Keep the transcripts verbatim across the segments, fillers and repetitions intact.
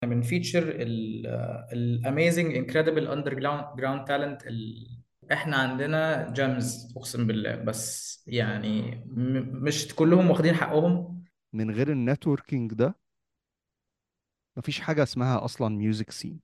بنفيتشر الاميزنج انكريدبل اندر جراوند تالنت. احنا عندنا جيمز اقسم بالله، بس يعني م- مش كلهم واخدين حقهم. من غير النتوركينج ده مفيش حاجة اسمها أصلا ميوزك سين.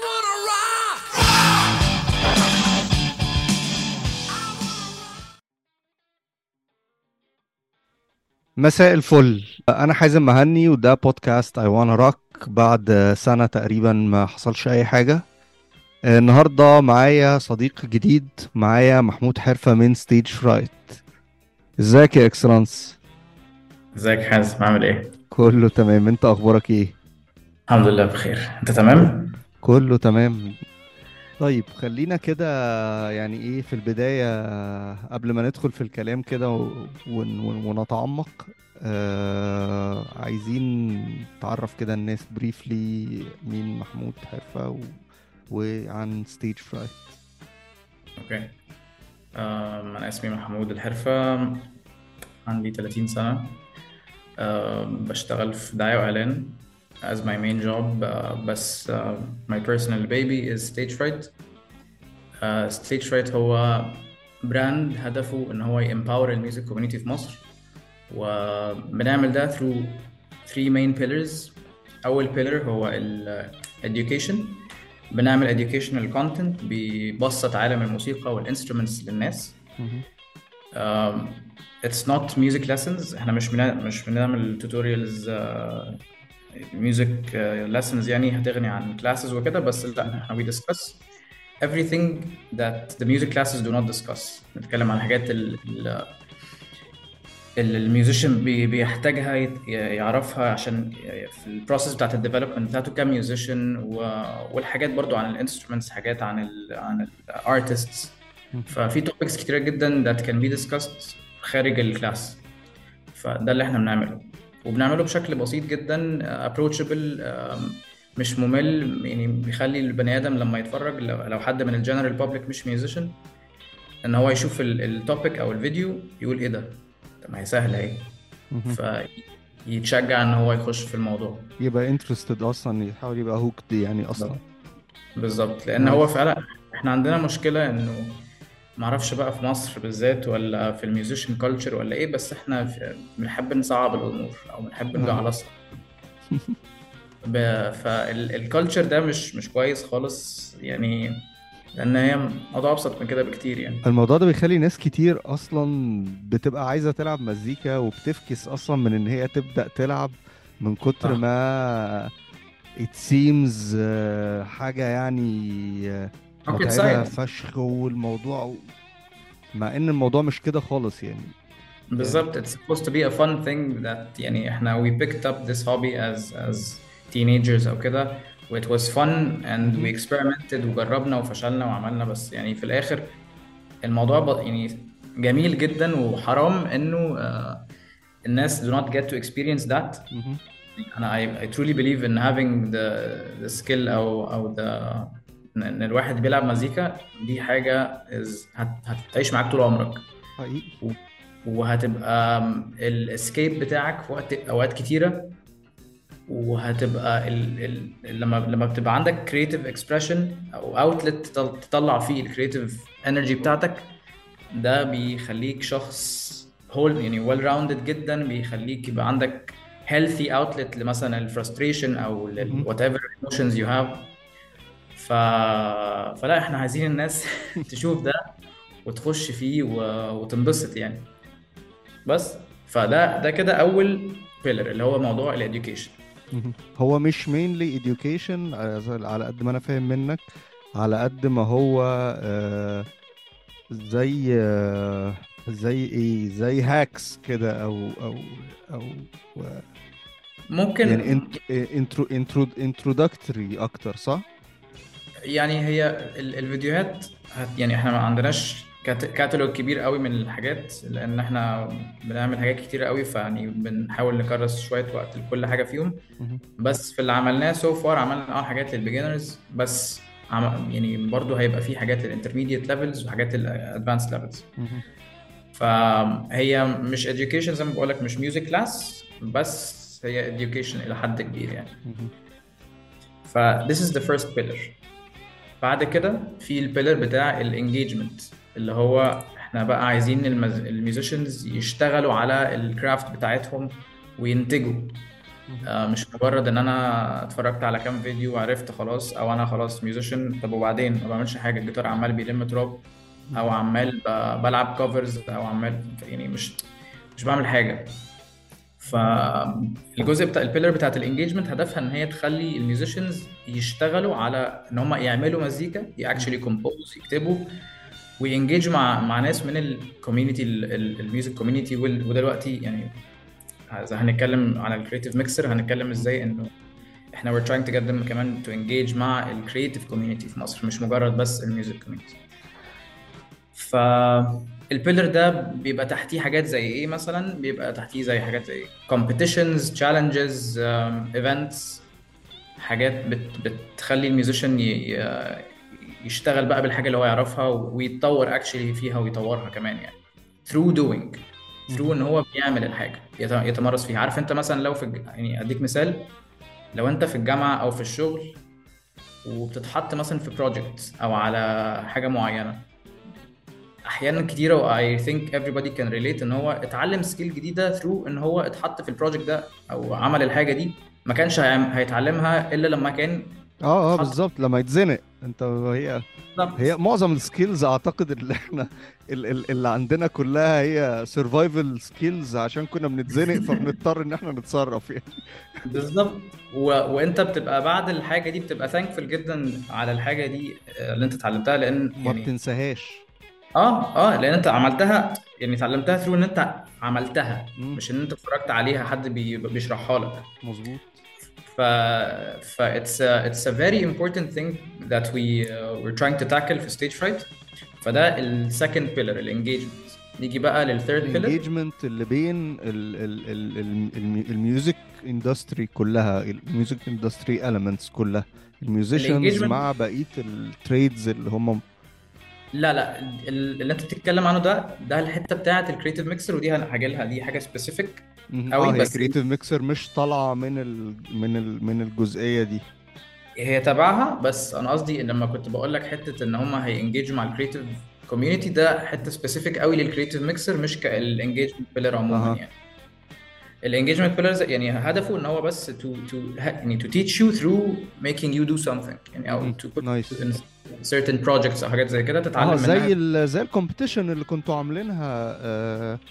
مساء الفل، أنا حازم مهني وده بودكاست I wanna rock. بعد سنة تقريبا ما حصلش أي حاجة. النهاردة معايا صديق جديد، معايا محمود حرفة من ستيج فرايت. ازيك يا اكسلانس؟ ازيك حازم، عامل ايه؟ كله تمام، انت اخبارك ايه؟ الحمد لله بخير، انت تمام؟ كله تمام. طيب خلينا كده، يعني ايه في البداية قبل ما ندخل في الكلام كده و- ون- ون- ونتعمق. آه عايزين تعرف كده الناس بريفلي مين محمود حرفة و... وعن ستيج فرايت. اوكي. آم، انا اسمي محمود الحرفة، عندي ثلاثين سنة. آم، بشتغل في دعاية واعلان as my main job. آه، بس آه، my personal baby is stage fright. آه، stage fright هو براند هدفه ان هو يempower الميوزك كوميونيتي في مصر، وبنعمل ده through three main pillars. أول pillar هو ال education. بنعمل educational content بيبسط عالم الموسيقى والinstruments للناس. مهم. um, it's not music lessons. احنا مش بنا... مش بنعمل tutorials uh, music uh, lessons يعني هتغني عن classes وكده، بس لا، مهم. احنا we discuss everything that the music classes do not discuss. نتكلم عن الحاجات اللي الميوزيشن بي- بيحتاجها يت- يعرفها عشان في البروسيس بتاعت الديفلوبمنت بتاعته كميوزيشن، والحاجات برضو عن الانسترومنتس، حاجات عن ال عن الارتستس. مهم. ففي توبكس كتيرة جدا that can be discussed خارج الكلاس. فده اللي احنا بنعمله، وبنعمله بشكل بسيط جدا approachable. آم، مش ممل، يعني بيخلي البني ادم لما يتفرج، لو لو حد من الجنرال بابليك مش ميوزيشن، ان هو يشوف التوبيك او الفيديو يقول ايه ده، طب ما هي سهله اهي، مهم. فيتشجع ان هو يخش في الموضوع. يبقى interested اصلا، يحاول يبقى hooked يعني اصلا. بالظبط. بالظبط، لان هو نايس. فعلا احنا عندنا مشكله انه معرفش بقى في مصر بالذات ولا في الميوزيشن كلتشر ولا ايه، بس احنا في- بنحب نصعب الامور او بنحب اه. نجعلصها. فالكالتشر ده مش مش كويس خالص يعني، لان هي موضوع ابسط من كده بكتير يعني. الموضوع ده بيخلي ناس كتير اصلا بتبقى عايزة تلعب مزيكا وبتفكس اصلا من ان هي تبدأ تلعب، من كتر صح. ما it seems آه، حاجة يعني آه، rocket متعبة science. فشخ، والموضوع مع ان الموضوع مش كده خالص يعني. آه، بالظبط. it's supposed to be a fun thing that يعني احنا we picked up this hobby as as teenagers او كده، و it was fun and مهم. we experimented وجربنا وفشلنا وعملنا، بس يعني في الاخر الموضوع ب... يعني جميل جدا، وحرام انه آه، الناس do not get to experience that. مهم. انا I, I truly believe in having the the skill او او the ان إن الواحد بيلعب مزيكا، دي حاجة is هت... هتعيش معاك طول عمرك، حقيقي. و- وهتبقى الاسكيب بتاعك في وقت اوقات كتيره، وهتبقى ال... ال... لما لما بتبقى عندك كرييتيف اكسبريشن او اوتلت تطلع فيه الكرييتيف انرجي بتاعتك، ده بيخليك شخص هول يعني ويل راوندد جدا، بيخليك يبقى عندك healthy outlet لمثلا الفرستريشن او مهم. وات ايفر emotions you have. ف... فلا، احنا عايزين الناس تشوف ده وتخش فيه و... وتنبسط يعني. بس فده ده كده اول بيلر اللي هو موضوع الاديوكيشن. مهم. هو مش mainly education على على قد ما انا فاهم منك، على قد ما هو آه زي آه زي ايه، زي هاكس كده او او او و- يعني ممكن. انت انترو انترو introductory اكتر، صح؟ يعني هي ال- الفيديوهات هت يعني احنا ما عندناش كات- كاتالوج كبير قوي من الحاجات، لان احنا بنعمل حاجات كتير قوي، فيعني بنحاول نكرس شويه وقت لكل حاجه فيهم. مهم. بس في اللي عملناه سو فار عملنا اه حاجات للبيجنرز بس. عم يعني برضو هيبقى في حاجات للانترميديت ليفلز وحاجات للادفانس ليفلز. مهم. فهي مش education زي ما بقول لك، مش music class، بس هي education إلى حد كبير يعني. مهم. ف this is the first pillar. بعد كده في البيلر بتاع الانجيجمنت، اللي هو احنا بقى عايزين المز... الميوزيشنز يشتغلوا على الكرافت بتاعتهم وينتجوا. آه مش مجرد ان انا اتفرجت على كام فيديو وعرفت خلاص، او انا خلاص ميوزيشن طب وبعدين ما بعملش حاجه، الجيتار عمال بيلم تراب، او عمال ب... بلعب كفرز، او عمال يعني مش مش بعمل حاجه. فالجزء بتاع البيلر بتاعت الانجيجمنت هدفها ان هي تخلي الميوزيشنز يشتغلوا على ان هم يعملوا مزيكا، اكشلي كومبوز، يكتبوا وينجيج مع مع ناس من الكوميونتي، الميوزك كوميونتي. ودلوقتي يعني اذا هنتكلم على الكريتيف ميكسر هنتكلم ازاي انه احنا we're trying to get them كمان to engage مع الكريتيف كوميونتي في مصر، مش مجرد بس الميوزك كوميونتي. ف البيلر ده بيبقى تحتيه حاجات زي ايه مثلا؟ بيبقى تحتيه زي حاجات زي competitions, challenges, um, events، حاجات بت بتخلي الميوزيشن يشتغل بقى بالحاجه اللي هو يعرفها ويتطور اكشلي فيها ويطورها كمان، يعني through doing through ان هو بيعمل الحاجه يتمرس فيها. عارف انت مثلا لو في الج... يعني اديك مثال، لو انت في الجامعه او في الشغل وبتتحط مثلا في بروجكت او على حاجه معينه، احيانا كتيره و I think everybody can relate ان هو اتعلم سكيل جديده through ان هو اتحط في البروجكت ده او عمل الحاجه دي، ما كانش هيتعلمها الا لما كان اه اه اتحط. بالظبط، لما يتزنق. انت هي هي بالظبط معظم السكيلز اعتقد اللي احنا ال- ال- اللي عندنا كلها هي سرفايفل سكيلز، عشان كنا بنتزنق فبنضطر ان احنا نتصرف يعني. بالظبط. و... وانت بتبقى بعد الحاجه دي بتبقى thankful جدا على الحاجه دي اللي انت اتعلمتها، لان ما يعني بتنساهاش. اه اه لان انت عملتها، يعني اتعلمتها ثرو ان انت عملتها، امم مش ان انت اتفرجت عليها حد بي... بيشرحها لك. مظبوط. ف ف it's a, it's a very important thing that we uh, we're trying to tackle في stage fright. فده ال second pillar الانجيجمنت. نيجي بقى لل third pillar. الانجيجمنت اللي بين ال ال ال ال الم- الميوزك اندستري كلها، الميوزك اندستري elements كلها، الميوزيشنز الانجيجمنت مع بقية التريدز اللي هم. لا لا ال- اللي انت بتتكلم عنه ده ده الحته بتاعه الكريتيف ميكسر، ودي هاجي لها، دي حاجه سبيسيفيك مهم. قوي. اه هي بس كرييتيف ميكسر مش طالعة من ال من ال من الجزئية دي. هي تبعها، بس انا قصدي ان لما كنت بقول لك حته ان هم هينجيجوا مع الكريتيف كوميونتي، ده حته سبيسيفيك قوي للكريتيف ميكسر، مش كالانجيجمنت بيلر عموما اها. يعني. الانجيجمنت بيلرز يعني هدفه ان هو بس to to يعني to teach you through making you do something، يعني او مهم. to put you نايس. in certain projects او حاجات زي كده اه تتعلم منها. زي ال زي الكومبيتيشن اللي كنتوا عاملينها، آه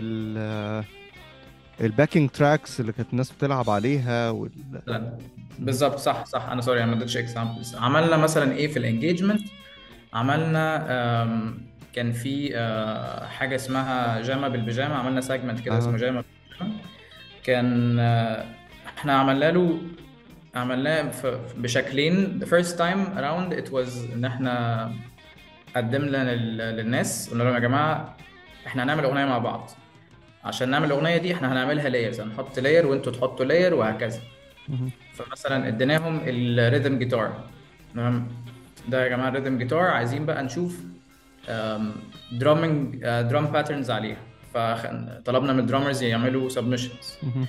ال الباكينج تراكس اللي كانت الناس بتلعب عليها وال... مثلا مهم. بالظبط، صح صح، انا سوري انا ما اديتش اكزامبلز. عملنا مثلا ايه في الانجيجمنت؟ عملنا آم، كان في آه، حاجه اسمها جاما بالبيجامه، عملنا سيجمنت كده اها. اسمه جاما بالبيجامه. كان آه، احنا عملنا له عملناه ف- بشكلين. the first time around it was ان احنا قدمنا لل- للناس، قلنا لهم يا جماعه احنا هنعمل اغنيه مع بعض. عشان نعمل الاغنيه دي احنا هنعملها لايرز، هنحط لاير وانتوا تحطوا لاير وهكذا. مهم. فمثلا اديناهم الريذم جيتار، تمام؟ ده يا جماعه الريذم جيتار، عايزين بقى نشوف درامينج درام باترنز عليها. فطلبنا من الدرامرز يعملوا سبمشنز، مهم.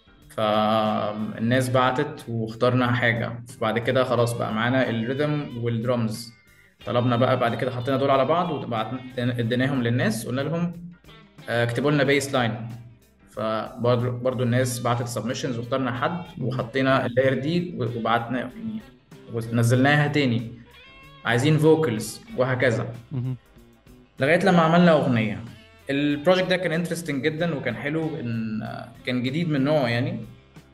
فالناس بعتت واخترنا حاجه. فبعد كده خلاص بقى معانا الريذم والدرامز. طلبنا بقى بعد كده حطينا دول على بعض وبعتنا اديناهم للناس، قلنا لهم آه، اكتبوا لنا بيس لاين. فبرضه برضه الناس بعتت سبمشنز واخترنا حد مهم. وحطينا اللاير دي وبعتنا يعني ونزلناها تاني، عايزين فوكلز وهكذا، مهم. لغايه لما عملنا اغنيه. البروجكت ده كان انترستنج جدا وكان حلو، ان كان جديد من نوعه يعني.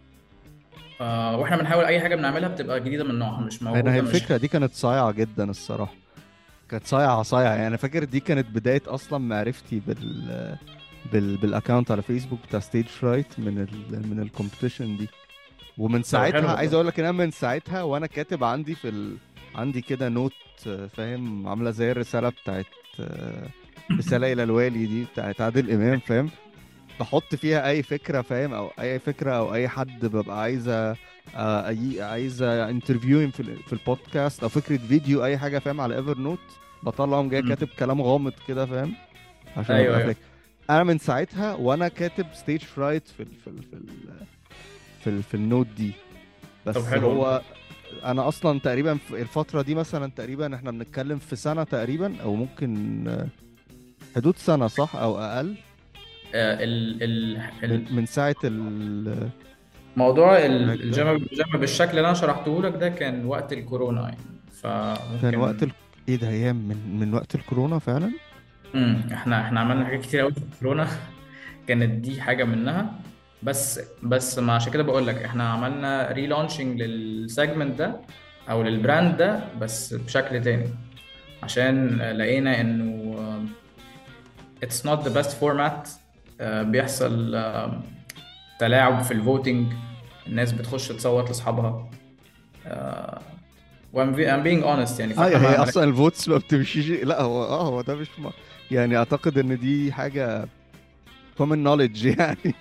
آه، واحنا بنحاول اي حاجه بنعملها بتبقى جديده من نوعها، مش انا هي موجوده، مش الفكرة دي كانت صايعة جدا الصراحة، كانت صايعة صايعة يعني. أنا فاكر دي كانت بداية أصلا معرفتي بال بال بالاكونت على فيسبوك بتاع ستيج فرايت من ال من الكومبيتيشن دي. ومن طب حلو ساعتها عايز والله. اقول لك ان انا من ساعتها وانا كاتب عندي في ال... عندي كده نوت، آه، فاهم، عامله زي الرساله بتاعت آه، رساله الى الوالي دي بتاعت عادل امام، فاهم، بحط فيها اي فكره، فاهم، او اي فكره او اي حد ببقى عايزه آه، أي عايزه انترفيو في ال- في البودكاست او فكره فيديو اي حاجه، فاهم، على ايفر نوت، بطلعهم جاي مم. كاتب كلام غامض كده، فاهم، عشان ايوه ابقى ايوه. فاكر. انا من ساعتها وانا كاتب ستيج فرايت في ال في ال في ال في, ال في النوت دي. طب بس حلو هو والله. انا اصلا تقريبا في الفتره دي مثلا تقريبا احنا بنتكلم في سنه تقريبا، او ممكن آه، حدود سنه صح او اقل. آه، ال ال من ال- من ساعه ال- موضوع ال- التراك ده. الجيم الجيم بالشكل اللي انا شرحته لك ده كان وقت الكورونا يعني. كان وقت فممكن. ال... ايه ده، ايام من من وقت الكورونا فعلا. امم احنا احنا عملنا حاجات كتير قوي في الكورونا. كانت دي حاجه منها. بس بس ما عشان كده بقول لك احنا عملنا ريلانشنج للسيجمنت ده او للبراند ده بس بشكل تاني. عشان لقينا انه it's not the best format. آه، بيحصل آه، تلاعب في الفوتينج. الناس بتخش تصوت لاصحابها. آه، وام I'm being honest يعني. فاحنا ايوه، هي ما ما- اصلا الفوتس ما بتمشيش. لا هو اه هو ده مش م... يعني اعتقد ان دي حاجه common knowledge يعني.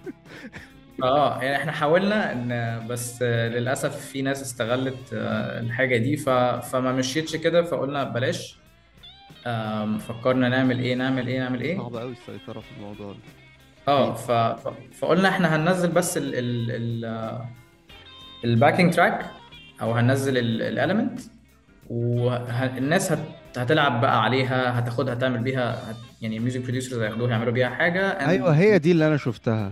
اه يعني احنا حاولنا ان بس آه، للاسف في ناس استغلت آه، الحاجه دي ف... فما مشيتش كده فقلنا بلاش. آم، فكرنا نعمل ايه نعمل ايه نعمل ايه. صعب قوي السيطره في الموضوع ده. اه اكيد. ف... ف... فقلنا احنا هننزل بس ال... ال... ال... الباكينج تراك او هننزل الاليمنت. والناس هت... هتلعب بقى عليها هتاخدها تعمل بيها هت... يعني الميوزك بروديوسرز هياخدوها يعملوا بيها حاجه ايوه، and... هي دي اللي انا شفتها.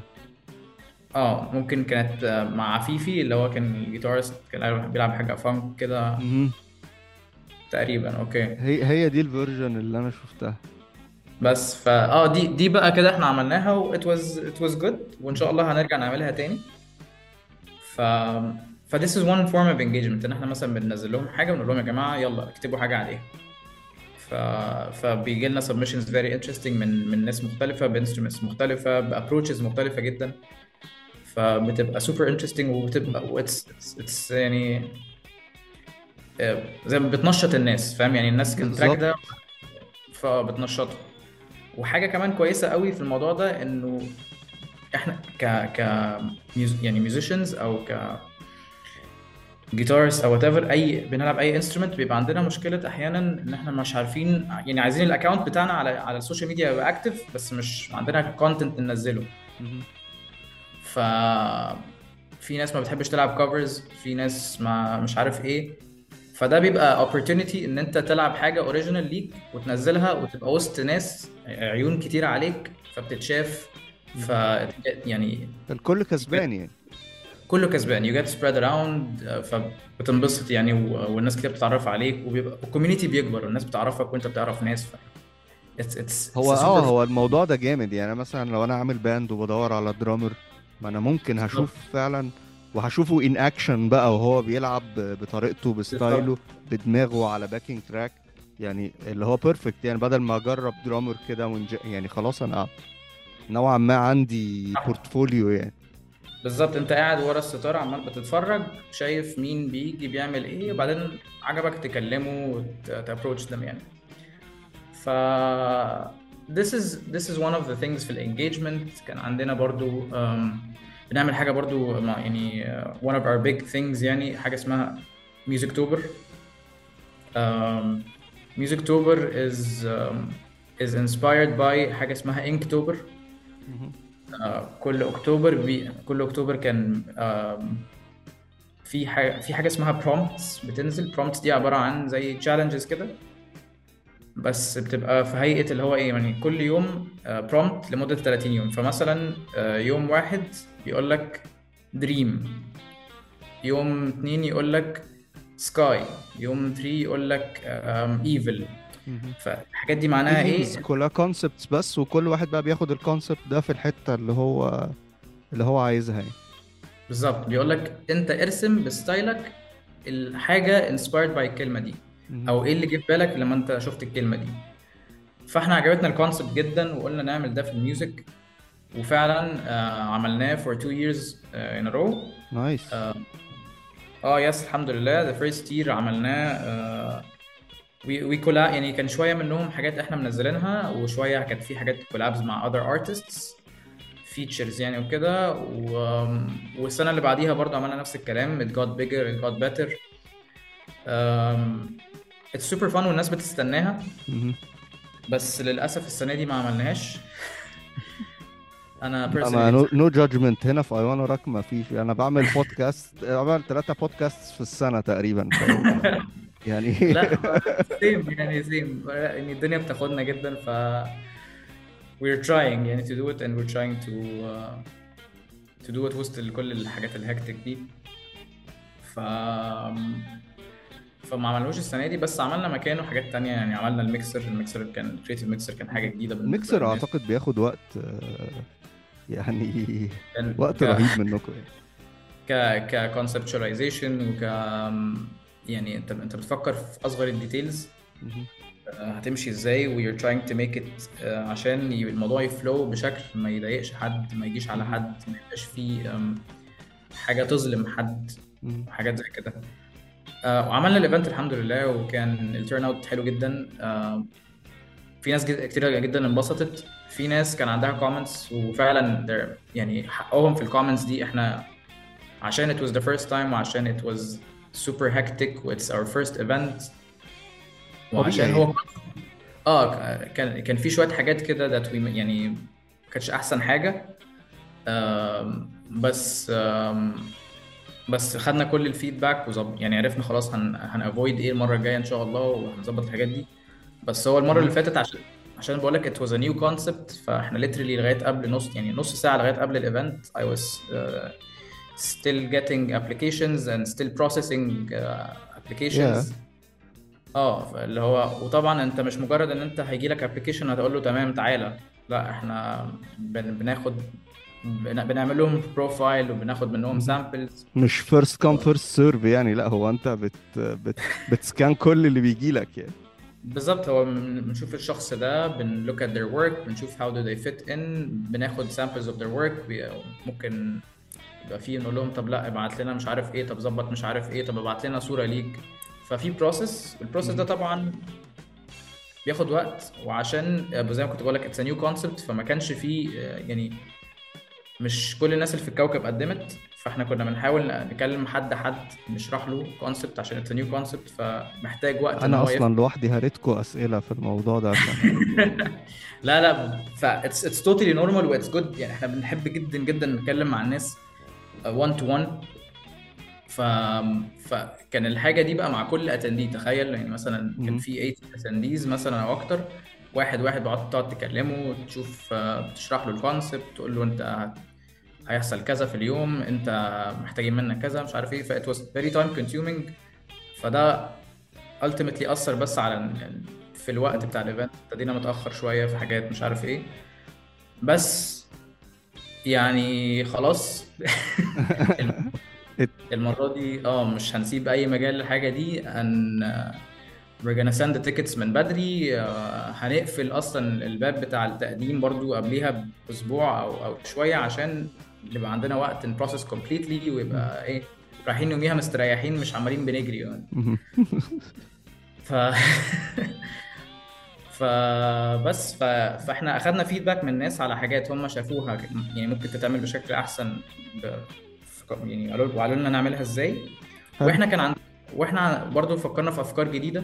اه ممكن كانت آه، مع عفيفي اللي هو كان الجيتارست كان بيلعب حاجه فانك كده مهم. تقريبا. اوكي. هي هي دي الفيرجن اللي انا شفتها. بس فا اه دي دي بقى كده احنا عملناها و it was it was good وان شاء الله هنرجع نعملها تاني. ف ف this is one form of engagement ان احنا مثلا بننزل لهم حاجه ونقول لهم يا جماعه يلا اكتبوا حاجه عليها. ف فبيجي لنا submissions very interesting من من ناس مختلفه بانسترومنتس مختلفه بابروتشز مختلفه جدا. فبتبقى super interesting وبتبقى واتس it's, it's يعني آه، زي ما بتنشط الناس فاهم يعني الناس كان التراك بالظبط. ده فبتنشطه. وحاجه كمان كويسه قوي في الموضوع ده انه احنا ك ك ميوز... يعني ميوزيشنز او ك جيتارز او وات ايفر اي بنلعب اي انسترومنت بيبقى عندنا مشكله احيانا ان احنا مش عارفين يعني عايزين الاكونت بتاعنا على على السوشيال ميديا يبقى اكتف بس مش عندنا كونتنت ننزله. مهم. ف في ناس ما بتحبش تلعب كفرز في ناس ما مش عارف ايه. فده بيبقى opportunity ان انت تلعب حاجه اوريجينال ليك وتنزلها وتبقى وسط ناس عيون كتير عليك فبتتشاف. ف مهم. يعني الكل كسبان يعني. كله كسبان you get spread around. آه، فبتنبسط يعني و- والناس كتير بتتعرف عليك وبيبقى الكوميونتي بيكبر والناس بتعرفك وانت بتعرف ناس. ف it's it's هو it's a اه super هو الموضوع ده جامد يعني. أنا مثلا لو انا عامل باند وبدور على درامر، ما انا ممكن بالظبط هشوف فعلا، وهشوفه ان اكشن بقى وهو بيلعب ب- بطريقته بستايله بالظبط بدماغه على باكينج تراك، يعني اللي هو بيرفكت يعني. بدل ما اجرب درامر كده ونج... يعني خلاص انا نوعا ما عندي بورتفوليو يعني. بالظبط انت قاعد ورا الستار عمال بتتفرج شايف مين بيجي بيعمل ايه وبعدين عجبك تكلمه وتابروتش them يعني. ف this is this is one of the things في الانجيجمنت. كان عندنا برضو um, بنعمل حاجه برضو مع يعني uh, one of our big things يعني حاجه اسمها Music Tober. um, Music Tober is um, is inspired by حاجه اسمها Inktober. مهم. آه، كل اكتوبر بي... كل اكتوبر كان آم، في حاجه في حاجه اسمها prompts بتنزل. prompts دي عباره عن زي challenges كده بس بتبقى في هيئه اللي هو ايه يعني كل يوم آه، prompt لمده ثلاثين يوم. فمثلا آه، يوم واحد بيقول لك dream. يوم اتنين يقول لك sky. يوم ثلاثة يقول لك آم، evil. مهم. فالحاجات دي معناها ثيمز ايه؟ كلها كونسبتس بس، وكل واحد بقى بياخد الكونسبت ده في الحتة اللي هو اللي هو عايزها يعني. بالظبط بيقول لك انت ارسم بستايلك الحاجه inspired by الكلمه دي مهم. او ايه اللي جه في بالك لما انت شفت الكلمه دي. فاحنا عجبتنا الكونسبت جدا وقلنا نعمل ده في الميوزك. وفعلا آه عملناه for two years آه in a row. نايس. اه آه، يس الحمد لله. the first year عملناه آه we we collab يعني كان شويه منهم حاجات احنا منزلينها وشويه كانت في حاجات collabs مع other artists features يعني وكده و... والسنه اللي بعديها برضه عملنا نفس الكلام. it got bigger it got better. um, it's super fun والناس بتستناها. مهم. بس للأسف السنة دي ما عملناهاش انا انا personally نو بصراحة. نو جادجمنت هنا في ايوان وراك، ما فيش. انا بعمل بودكاست، بعمل ثلاثة بودكاست في السنة تقريبا، فاهم يعني. لا سيم يعني سيم يعني الدنيا بتاخدنا جدا، ف we're trying يعني to do it and we're trying to uh, to do it وسط كل الحاجات الهكتك دي. ف فما عملوش السنة دي، بس عملنا مكانه حاجات تانية يعني. عملنا الميكسر الميكسر كان كريتيف ميكسر، كان حاجة جديدة بالنسبة الميكسر للناس. اعتقد بياخد وقت، آه، يعني كان وقت ك رهيب منكم يعني. ك كconceptualization وك يعني انت انت بتفكر في اصغر الديتيلز مهم. هتمشي ازاي، و you're trying to make it آه، عشان ي- الموضوع يفلو بشكل ما يضايقش حد، ما يجيش على مهم. حد، ما يبقاش فيه آم، حاجة تظلم حد مهم. وحاجات زي كده. آه، وعملنا الايفنت الحمد لله، وكان التيرن اوت حلو جدا. آه، في ناس جد- كتير جدا انبسطت. في ناس كان عندها كومنتس وفعلا they're- يعني حقهم في الكومنتس دي. احنا عشان it was the first time، وعشان it was super hectic و it's our first event، وعشان طبيعي. هو اه كان كان في شويه حاجات كده that we يعني ما كانتش احسن حاجه. آم، بس آم، بس خدنا كل الفيدباك وظبط يعني، عرفنا خلاص هن هنافويد ايه المره الجايه ان شاء الله، وهنظبط الحاجات دي. بس هو المره اللي مهم. فاتت عشان عشان بقول لك it was a new concept، فاحنا literally لغايه قبل نص يعني نص ساعه لغايه قبل الايفنت I was uh, still getting applications and still processing uh, يا applications. اه اللي هو، وطبعا انت مش مجرد ان انت هيجي لك ابلكيشن هتقول له تمام تعالى، لا احنا بن بناخد بن بنعمل لهم بروفايل وبناخد منهم مهم. سامبلز. مش فيرست كام فيرست سيرف يعني، لا هو انت بت بت بتسكان كل اللي بيجي لك يعني. بالظبط، هو بن- بنشوف الشخص ده، بن look at their work، بنشوف how do they fit in، بناخد samples of their work. بي- ممكن يبقى فيه نقول لهم طب لا ابعت لنا مش عارف ايه، طب ظبط مش عارف ايه، طب ابعت لنا صورة ليك. ففي بروسيس، البروسيس ده مهم. طبعا بياخد وقت. وعشان آه، زي ما كنت بقول لك اتس نيو كونسبت، فما كانش فيه آه، يعني مش كل الناس اللي في الكوكب قدمت. فاحنا كنا بنحاول نكلم حد حد نشرح له كونسبت عشان اتس نيو كونسبت، فمحتاج وقت ان انا هو اصلا يفهم. لوحدي هريتكوا اسئله في الموضوع ده عشان. لا لا، ف it's it's totally normal و it's good يعني. احنا بنحب جدا جدا نتكلم مع الناس one to one. ف فكان الحاجه دي بقى مع كل اتندي. تخيل يعني مثلا كان مهم. في ثمانية اتنديز مثلا او اكتر، واحد واحد بقعد تقعد تكلمه، تشوف آه، تشرح له الكونسبت، تقول له انت هت- هيحصل كذا في اليوم، انت محتاجين منك كذا مش عارف ايه. ف it was very time consuming. فده ultimately اثر بس على ال- في الوقت مهم. بتاع الايفنت. ابتدينا متاخر شويه في حاجات مش عارف ايه. بس يعني خلاص. ات- المرة دي اه مش هنسيب أي مجال للحاجة دي. هن we're gonna send the tickets من بدري. آه، هنقفل أصلا الباب بتاع التقديم برضو قبليها بأسبوع أو أو شوية، عشان يبقى عندنا وقت نبروسس completely، مهم. ويبقى إيه رايحين يوميها مستريحين مش عمالين بنجري يعني. مهم. ف فبس ف... فاحنا اخدنا فيدباك من الناس على حاجات هم شافوها يعني ممكن تتعمل بشكل احسن. ب... ف- يعني قالوا وقالوا لنا نعملها ازاي. حلو. واحنا كان عند واحنا برضو فكرنا في افكار جديده.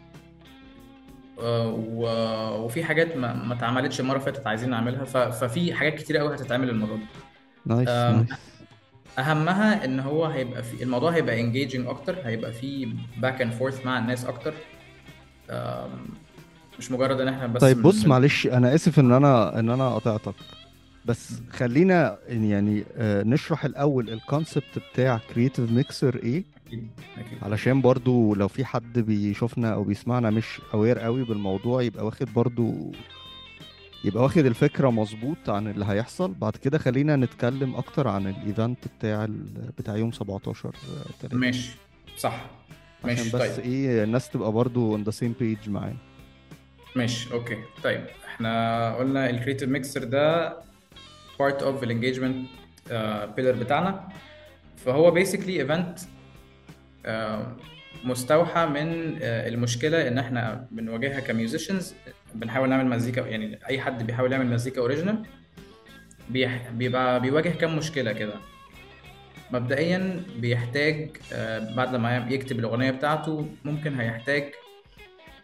آه، و... وفي حاجات ما ما اتعملتش المره اللي فاتت عايزين نعملها. ف... ففي حاجات كتير قوي هتتعمل المره دي. نايس آم، نايس. اهمها ان هو هيبقى في الموضوع هيبقى engaging اكتر، هيبقى في باك اند فورث مع الناس اكتر. آم، مش مجرد ان احنا بس طيب من... بص، من... معلش انا اسف ان انا ان انا قطعتك، بس خلينا يعني آه، نشرح الاول الكونسبت بتاع كرييتيف ميكسر ايه، اكيد اكيد. علشان برضو لو في حد بيشوفنا او بيسمعنا مش اوير قوي بالموضوع، يبقى واخد برضو، يبقى واخد الفكرة مظبوط عن اللي هيحصل. بعد كده خلينا نتكلم اكتر عن الايفنت بتاع ال... بتاع يوم سبعتاشر تلاتة، ماشي صح. عشان ماشي بس طيب. ايه الناس تبقى برضو on the same page معانا. ماشي اوكي طيب. احنا قلنا الكريتيف ميكسر ده part of الانجيجمنت بيلر بتاعنا. فهو basically event آه، مستوحى من آه، المشكلة ان احنا بنواجهها كميوزيشنز. بنحاول نعمل مزيكا يعني، اي حد بيحاول يعمل مزيكا اوريجينال بيبقى بيواجه كام مشكلة كده. مبدئيا بيحتاج آه، بعد ما يكتب الأغنية بتاعته ممكن هيحتاج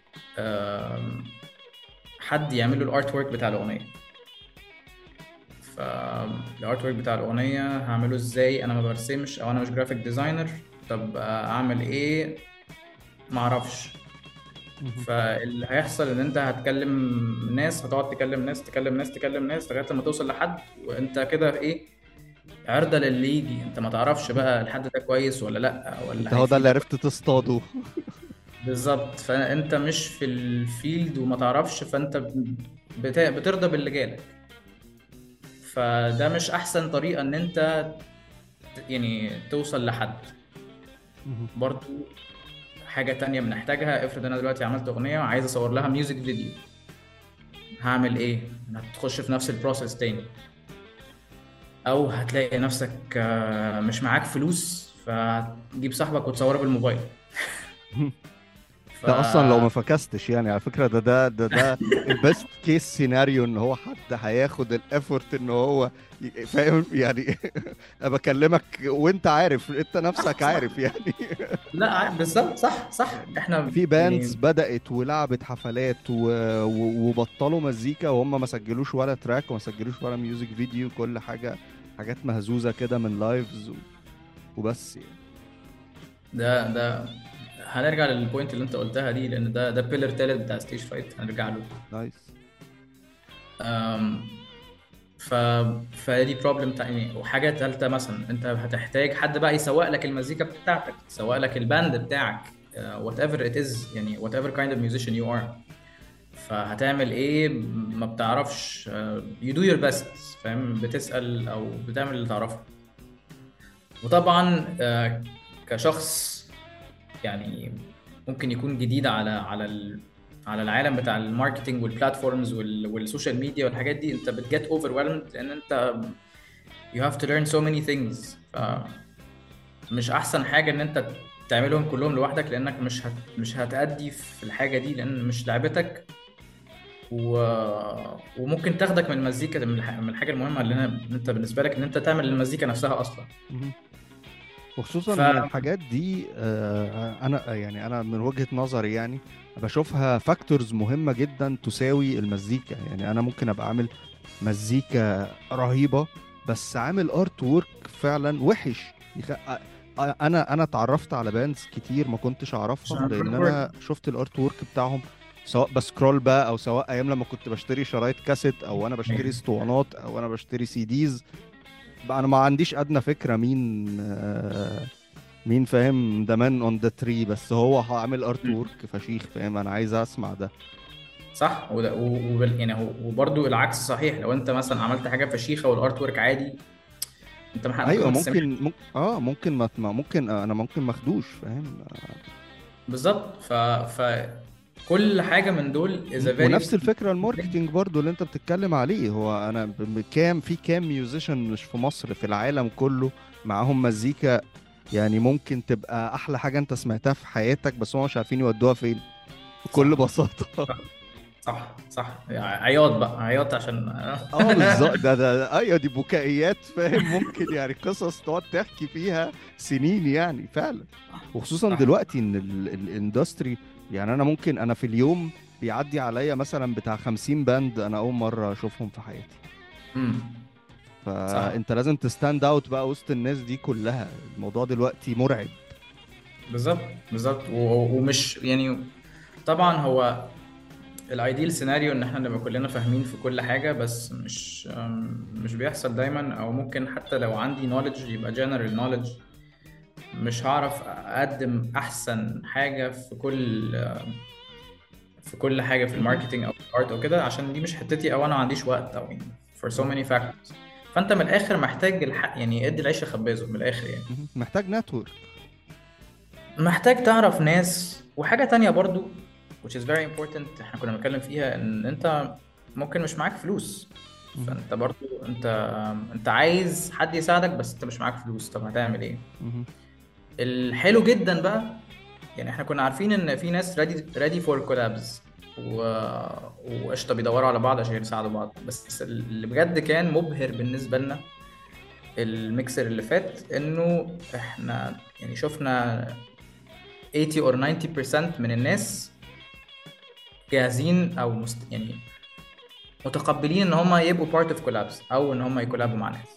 آم، حد يعمل له الارت ورك بتاع الاغنيه. فالارت ورك بتاع الاغنيه هعمله ازاي؟ انا ما برسمش او انا مش جرافيك ديزاينر. طب اعمل ايه؟ ما اعرفش. مهم. فاللي هيحصل ان انت هتكلم ناس، هتقعد تكلم ناس تكلم ناس تكلم ناس لغايه لما توصل لحد، وانت كده ايه، عرضة للي يجي. انت ما تعرفش مهم. بقى الحد ده كويس ولا لا، انت ولا هو ده اللي هيفيدك ولا. عرفت تصطاده. بالظبط. فانت مش في الفيلد وما تعرفش، فانت بت- بترضى باللي جالك. فده مش احسن طريقة ان انت ت- يعني توصل لحد. مهم. برضو حاجة تانية بنحتاجها، افرض انا دلوقتي عملت اغنية وعايز اصور لها ميوزك فيديو، هعمل ايه؟ هتخش في نفس البروسيس تاني، او هتلاقي نفسك آه، مش معاك فلوس، فتجيب صاحبك وتصوره بالموبايل. ف ده اصلا لو ما فكستش يعني، على فكرة ده ده ده ده البيست كيس سيناريو، ان هو حد هياخد الافورت ان هو ي- فاهم يعني. انا بكلمك وانت عارف، انت صح نفسك صح. عارف يعني. لا ع- بالظبط، صح صح. يعني احنا في باندز يعني بدأت ولعبت حفلات و... و... وبطلوا مزيكا وهم ما سجلوش ولا تراك وما سجلوش ولا ميوزك فيديو، كل حاجة حاجات مهزوزة كده من لايفز و... وبس يعني. ده ده هنرجع للبوينت اللي انت قلتها دي، لان ده ده بيلر تالت بتاع ستيج فايت هنرجع له. نايس. أم، ف فدي بروبلم تاني. وحاجه ثالثه مثلا، انت هتحتاج حد بقى يسوق لك المزيكا بتاعتك، يسوق لك الباند بتاعك، وات ايفر ات از، يعني وات ايفر كايند اوف ميوزيشن يو ار. فهتعمل ايه؟ ما بتعرفش، يو دو يور بيست، فاهم؟ بتسأل او بتعمل اللي تعرفه. وطبعا آه، كشخص يعني ممكن يكون جديد على على ال... على العالم بتاع الماركتينج والبلاتفورمز وال... والسوشيال ميديا والحاجات دي، انت بتجت overwhelmed لان انت you have to learn so many things. فمش احسن حاجة ان انت تعملهم كلهم لوحدك، لانك مش هت... مش هتأدي في الحاجة دي، لان مش لعبتك. و... وممكن تاخدك من المزيكا، من الح- من الحاجة المهمة اللي أنا... انت بالنسبة لك ان انت تعمل المزيكا نفسها اصلا. مهم. وخصوصا ف ان الحاجات دي آه، انا يعني انا من وجهة نظري يعني بشوفها فاكتورز مهمة جدا تساوي المزيكا. يعني انا ممكن ابقى عامل مزيكا رهيبة بس عامل ارت وورك فعلا وحش. يخ... آه، آه، انا انا اتعرفت على باندز كتير ما كنتش اعرفها عشان لان الفوتورك. انا شفت الارت وورك بتاعهم، سواء بسكرول بقى او سواء ايام لما كنت بشتري شرايط كاسيت او انا بشتري اسطوانات او انا بشتري سي ديز. بقى انا ما عنديش ادنى فكرة مين آه، مين فاهم ده مان اون ذا تري، بس هو عامل ارت وورك فشيخ، فاهم؟ انا عايز اسمع ده. صح. وده و- وبال- يعني هو وبرضه العكس صحيح. لو انت مثلا عملت حاجه فشيخه والارت ورك عادي، انت مح- ممكن ايوه ما تستمعش. ممكن ممكن اه ممكن ما ما- ممكن انا ممكن مخدوش، فاهم؟ بالظبط. ف ف كل حاجه من دول is م- a ونفس very الفكره الماركتينج برضو اللي انت بتتكلم عليه. هو انا ب- ب- كام في كام ميوزيشن مش في مصر، في العالم كله معاهم مزيكا يعني ممكن تبقى احلى حاجه انت سمعتها في حياتك، بس هم مش عارفين يودوها فين بكل صح بساطه. صح صح صح. عياط بقى، عياط عشان اه بالظبط، ده ده ايوه دي بكائيات، فاهم؟ ممكن يعني قصص تقعد تحكي فيها سنين يعني فعلا. وخصوصا صح. دلوقتي ان الاندستري، يعني انا ممكن انا في اليوم بيعدي عليا مثلا بتاع خمسين باند انا اول مره اشوفهم في حياتي. امم. صح. فانت لازم تستاند اوت بقى وسط الناس دي كلها. الموضوع دلوقتي مرعب. بالظبط بالظبط. و- ومش يعني طبعا هو الايديال سيناريو ان احنا نبقى كلنا فاهمين في كل حاجه، بس مش أم، مش بيحصل دايما. او ممكن حتى لو عندي نوليدج يبقى جنرال نوليدج، مش هعرف اقدم احسن حاجه في كل في كل حاجه في مهم. الماركتينج او في الارت او كده، عشان دي مش حتتي، او انا ما عنديش وقت، او يعني for so many factors. فانت من الاخر محتاج الحق، يعني ادي العيش لخبازه من الاخر يعني. مهم. محتاج نتورك. محتاج تعرف ناس. وحاجه تانية برضو which is very important احنا كنا بنتكلم فيها، ان انت ممكن مش معاك فلوس. مهم. فانت برضو انت انت عايز حد يساعدك، بس انت مش معاك فلوس. طب هتعمل ايه؟ مهم. الحلو جدا بقى، يعني احنا كنا عارفين ان في ناس ready ready for collabs و... وقشطه بيدوروا على بعض عشان يساعدوا بعض. بس اللي بجد كان مبهر بالنسبه لنا الميكسر اللي فات، انه احنا يعني شفنا ثمانين or ninety percent من الناس جاهزين، او مست... يعني متقبلين ان هم يبقوا part of collabs او ان هم يكولابوا مع ناس.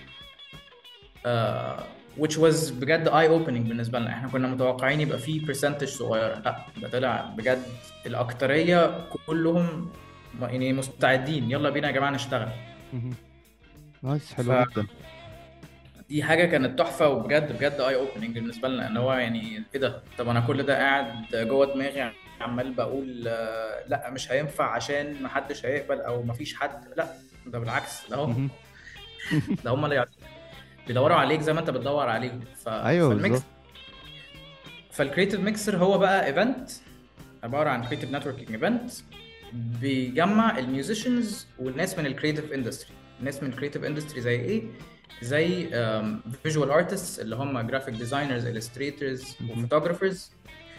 آه which was بجد eye opening بالنسبه لنا. احنا كنا متوقعين يبقى فيه percentage صغيره، لا ده طلع بجد الاكتريه كلهم يعني مستعدين، يلا بينا يا جماعه نشتغل. مهم. نايس، حلو جدا. فدي حاجه كانت تحفه وبجد بجد اي اوبننج بالنسبه لنا، ان هو يعني ايه ده، طب انا كل ده قاعد جوه دماغي عمال بقول آه، لا مش هينفع عشان ما حدش هيقبل او ما فيش حد، لا ده بالعكس، ده هو مهم. ده هم اللي بيدوروا عليك زي ما انت بتدور عليهم. ف... ايوه فالميكس بالظبط. فالكريتيف ميكسر هو بقى ايفنت عباره عن كريتيف نتوركينج ايفنت بيجمع الميوزيشنز والناس من الكريتيف اندستري. الناس من الكريتيف اندستري زي ايه؟ زي فيجوال ارتستس اللي هم جرافيك ديزاينرز، الستريتورز، مهم. وفوتوغرافرز،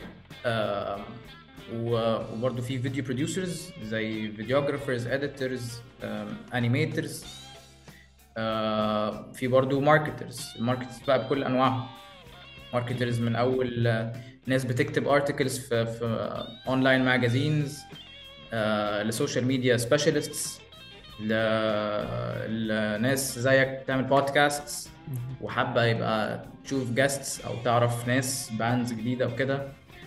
وبرضه في فيديو بروديوسرز زي فيديوغرافرز، اديتورز، انيميترز. في برضه ماركترز، الماركترز بقى بكل انواعهم. ماركترز من اول آه، ناس بتكتب ارتكلز في في اونلاين ماجازينز، لسوشيال ميديا سبيشالستس، لناس زيك تعمل بودكاستس مهم. وحابه يبقى تشوف جاستس او تعرف ناس باندز جديده وكده،